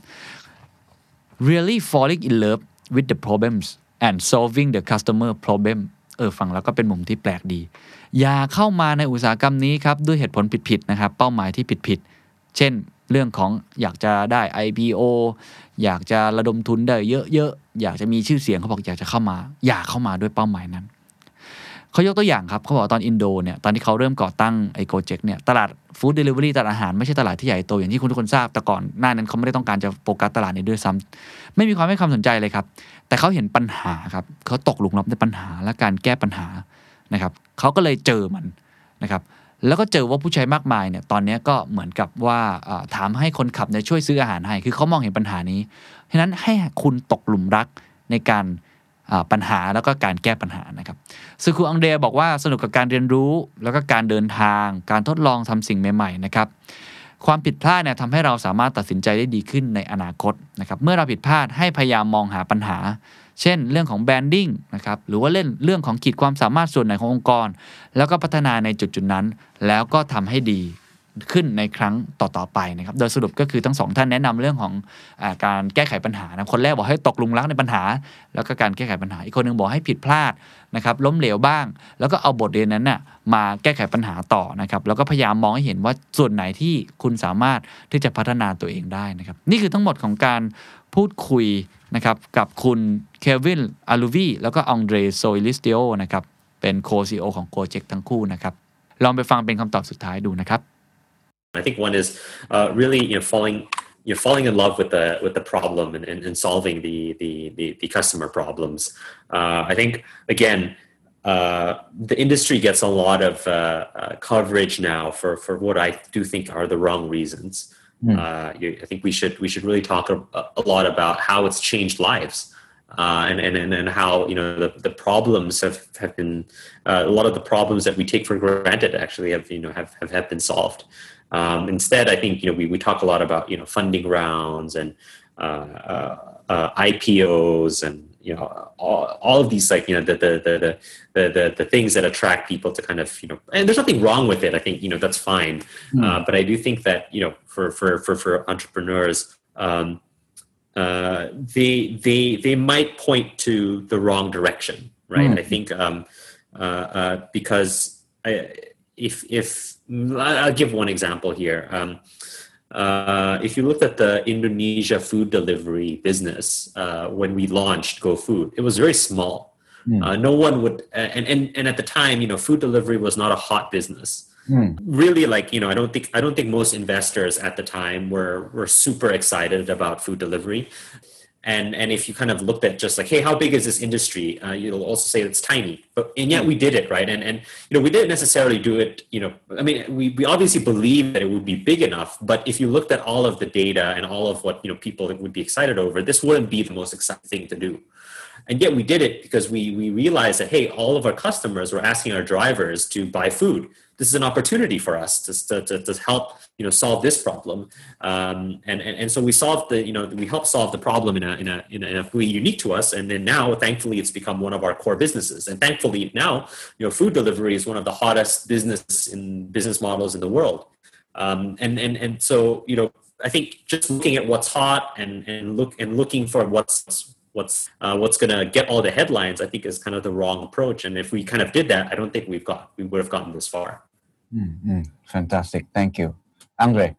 really falling in love with the problems and solving the customer problem เออฟังแล้วก็เป็นมุมที่แปลกดีอย่าเข้ามาในอุตสาหกรรมนี้ครับด้วยเหตุผลผิดๆนะครับเป้าหมายที่ผิดๆเช่นเรื่องของอยากจะได้ ไอ พี โอ อยากจะระดมทุนได้เยอะๆอยากจะมีชื่อเสียงเขาบอกอยากจะเข้ามาอย่าเข้ามาด้วยเป้าหมายนั้นเขายกตัวอย่างครับเขาบอกตอนอินโดเนี่ยตอนที่เขาเริ่มก่อตั้งไอ้โกเจ็กเนี่ยตลาดฟู้ดเดลิเวอรี่ตลาดอาหารไม่ใช่ตลาดที่ใหญ่โตอย่างที่คุณทุกคนทราบแต่ก่อนหน้านั้นเขาไม่ได้ต้องการจะโฟกัสตลาดนี้ด้วยซ้ำไม่มีความให้ความสนใจเลยครับแต่เขาเห็นปัญหาครับเขาตกหลุมรักในปัญหาและการแก้ปัญหานะครับเขาก็เลยเจอมันนะครับแล้วก็เจอว่าผู้ใช้มากมายเนี่ยตอนนี้ก็เหมือนกับว่าถามให้คนขับเนี่ยช่วยซื้ออาหารให้คือเขามองเห็นปัญหานี้ฉะนั้นให้คุณตกหลุมรักในการปัญหาแล้วก็การแก้ปัญหานะครับซึ่งครูอังเดรบอกว่าสนุกกับการเรียนรู้แล้วก็การเดินทางการทดลองทำสิ่งใหม่ๆนะครับความผิดพลาดเนี่ยทำให้เราสามารถตัดสินใจได้ดีขึ้นในอนาคตนะครับเมื่อเราผิดพลาดให้พยายามมองหาปัญหาเช่นเรื่องของแบรนดิ้งนะครับหรือว่าเล่นเรื่องของขีดความสามารถส่วนไหนขององค์กรแล้วก็พัฒนาในจุดๆนั้นแล้วก็ทำให้ดีขึ้นในครั้งต่อๆไปนะครับโดยสรุปก็คือทั้งสองท่านแนะนำเรื่องของอ่าการแก้ไขปัญหานะคนแรกบอกให้ตกหลุมรักในปัญหาแล้วก็การแก้ไขปัญหาอีกคนนึงบอกให้ผิดพลาดนะครับล้มเหลวบ้างแล้วก็เอาบทเรียนนั้นน่ะมาแก้ไขปัญหาต่อนะครับแล้วก็พยายามมองให้เห็นว่าส่วนไหนที่คุณสามารถที่จะพัฒนาตัวเองได้นะครับนี่คือทั้งหมดของการพูดคุยนะครับกับคุณเควินอาลูวีแล้วก็องเดรโซอิลิสติโอนะครับเป็นโค ซี อี โอ ของโกเจ็กทั้งคู่นะครับลองไปฟังเป็นคำตอบสุดท้ายดูนะครับ I think one is uh, really, you know, falling, you know, falling in love with the with the problem and, and, and solving the, the the the customer problems. Uh, I think again, uh, the industry gets a lot of uh, uh, coverage now for for what I do think are the wrong reasons. Mm. Uh, you, I think we should we should really talk a, a lot about how it's changed lives. Uh, and, and and how, you know, the, the problems have, have been uh, a lot of the problems that we take for granted actually have, you know, have, have, have been solved. Um, instead, I think, you know, we, we talk a lot about, you know, funding rounds and uh, uh, uh, I P Os and you know, all, all of these, like, you know, the, the, the, the, the, the things that attract people to kind of, you know, and there's nothing wrong with it. I think, you know, that's fine. Mm. Uh, but I do think that, you know, for, for, for, for entrepreneurs, um, uh, they, they, they might point to the wrong direction. Right. Mm. I think, um, uh, uh, because I, if, if I'll give one example here, um, Uh, if you looked at the Indonesia food delivery business, uh, when we launched GoFood, it was very small. Mm. Uh, no one would, and, and, and at the time, you know, food delivery was not a hot business. Mm. Really, like, you know, I don't think, I don't think most investors at the time were, were super excited about food delivery. And and if you kind of looked at just like, hey, how big is this industry? Uh, you'll also say it's tiny. But and yet we did it, right? And and you know, we didn't necessarily do it. You know, I mean, we we obviously believed that it would be big enough. But if you looked at all of the data and all of what, you know, people would be excited over, this wouldn't be the most exciting thing to do. And yet we did it because we we realized that, hey, all of our customers were asking our drivers to buy food. This is an opportunity for us to to, to help, you know, solve this problem. Um, and, and and so we solved the, you know, we helped solve the problem in a in a in a, in a way unique to us. And then now, thankfully, it's become one of our core businesses. And thankfully now, you know, food delivery is one of the hottest business in business models in the world. Um, and and and so, you know, I think just looking at what's hot and and look and looking for what's what's uh, what's going to get all the headlines, I think is kind of the wrong approach. And if we kind of did that, I don't think we've got we would have gotten this far. Mm-hmm. Fantastic, thank you, Andre.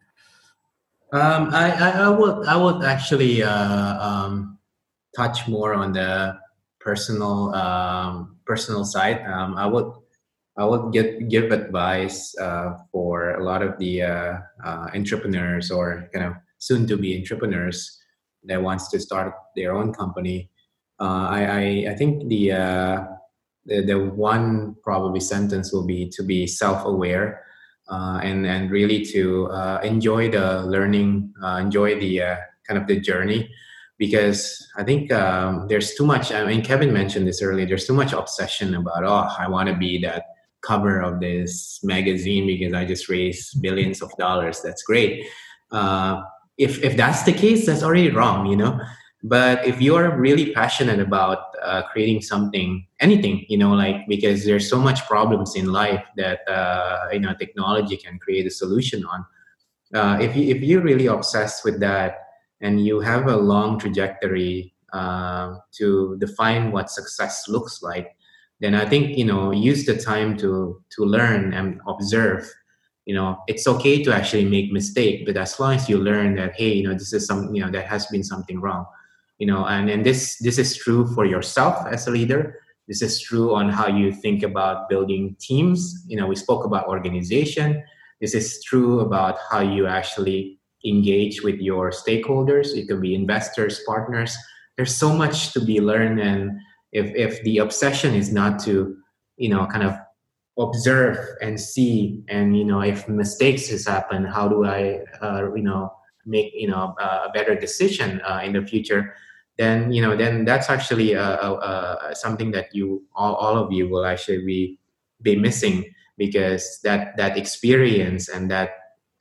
Um, I, I I would I would actually uh, um, touch more on the personal um, personal side. Um, I would I would get give advice uh, for a lot of the uh, uh, entrepreneurs or kind of soon to be entrepreneurs that wants to start their own company. Uh, I, I I think the uh, the the one probably sentence will be to be self-aware uh, and and really to uh, enjoy the learning, uh, enjoy the uh, kind of the journey, because I think um, there's too much. I mean, Kevin mentioned this earlier. There's too much obsession about, oh, I want to be that cover of this magazine because I just raised billions of dollars. That's great. Uh, if if that's the case, that's already wrong, you know. But if you're really passionate about uh, creating something, anything, you know, like, because there's so much problems in life that, uh, you know, technology can create a solution on. Uh, if, you, if you're really obsessed with that and you have a long trajectory uh, to define what success looks like, then I think, you know, use the time to to learn and observe. You know, it's okay to actually make mistake, but as long as you learn that, hey, you know, this is some, you know, that has been something wrong. You know, and, and this this is true for yourself as a leader. This is true on how you think about building teams. You know, we spoke about organization. This is true about how you actually engage with your stakeholders. It could be investors, partners. There's so much to be learned. And if if the obsession is not to, you know, kind of observe and see, and, you know, if mistakes has happened, how do I, uh, you know, make, you know, a better decision uh, in the future? Then, you know, then that's actually uh, uh, something that you, all, all of you will actually be, be missing, because that, that experience and that,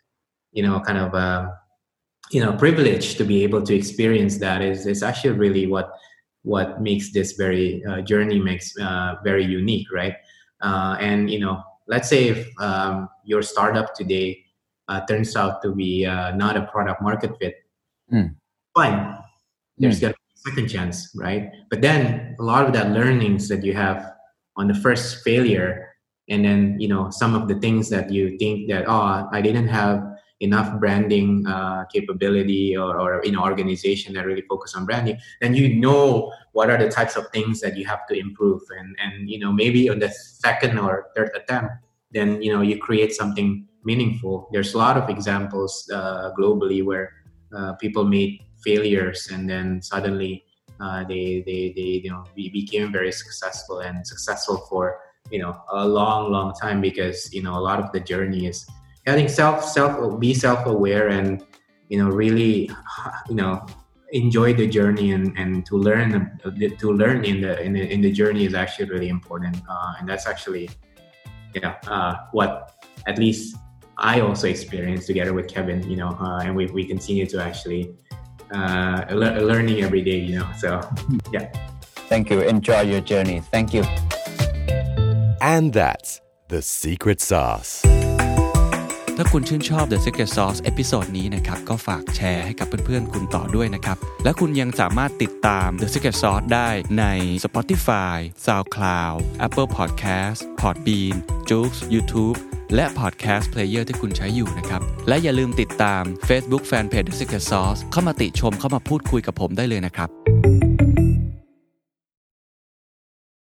you know, kind of, uh, you know, privilege to be able to experience that is, is actually really what, what makes this very uh, journey makes uh, very unique, right? Uh, and, you know, let's say if um, your startup today uh, turns out to be uh, not a product market fit, mm. fine. There's mm. going to be a second chance, right? But then a lot of that learnings that you have on the first failure, and then, you know, some of the things that you think that, oh, I didn't have enough branding uh, capability or, or, you know, organization that really focus on branding, then you know what are the types of things that you have to improve. And, and you know, maybe on the second or third attempt, then, you know, you create something meaningful. There's a lot of examples uh, globally where uh, people made failures and then suddenly uh, they, they, they, you know, became very successful and successful for, you know, a long, long time, because, you know, a lot of the journey is, I think self, self, be self-aware and, you know, really, you know, enjoy the journey and, and to learn, to learn in the, in the, in the journey is actually really important. Uh, and that's actually, you know, uh, what at least I also experienced together with Kevin, you know, uh, and we, we continue to actually uh, le- learning every day, you know, so yeah. Thank you. Enjoy your journey. Thank you. And that's the secret sauce. ถ้าคุณชื่นชอบ The Secret Sauce เอพิโซดนี้นะครับก็ฝากแชร์ให้กับเพื่อนๆคุณต่อด้วยนะครับและคุณยังสามารถติดตาม The Secret Sauce ได้ใน Spotify, SoundCloud, Apple Podcast, Podbean, Joox, YouTube และ Podcast Player ที่คุณใช้อยู่นะครับและอย่าลืมติดตาม Facebook Fanpage The Secret Sauce เข้ามาติชมเข้ามาพูดคุยกับผมได้เลยนะครับ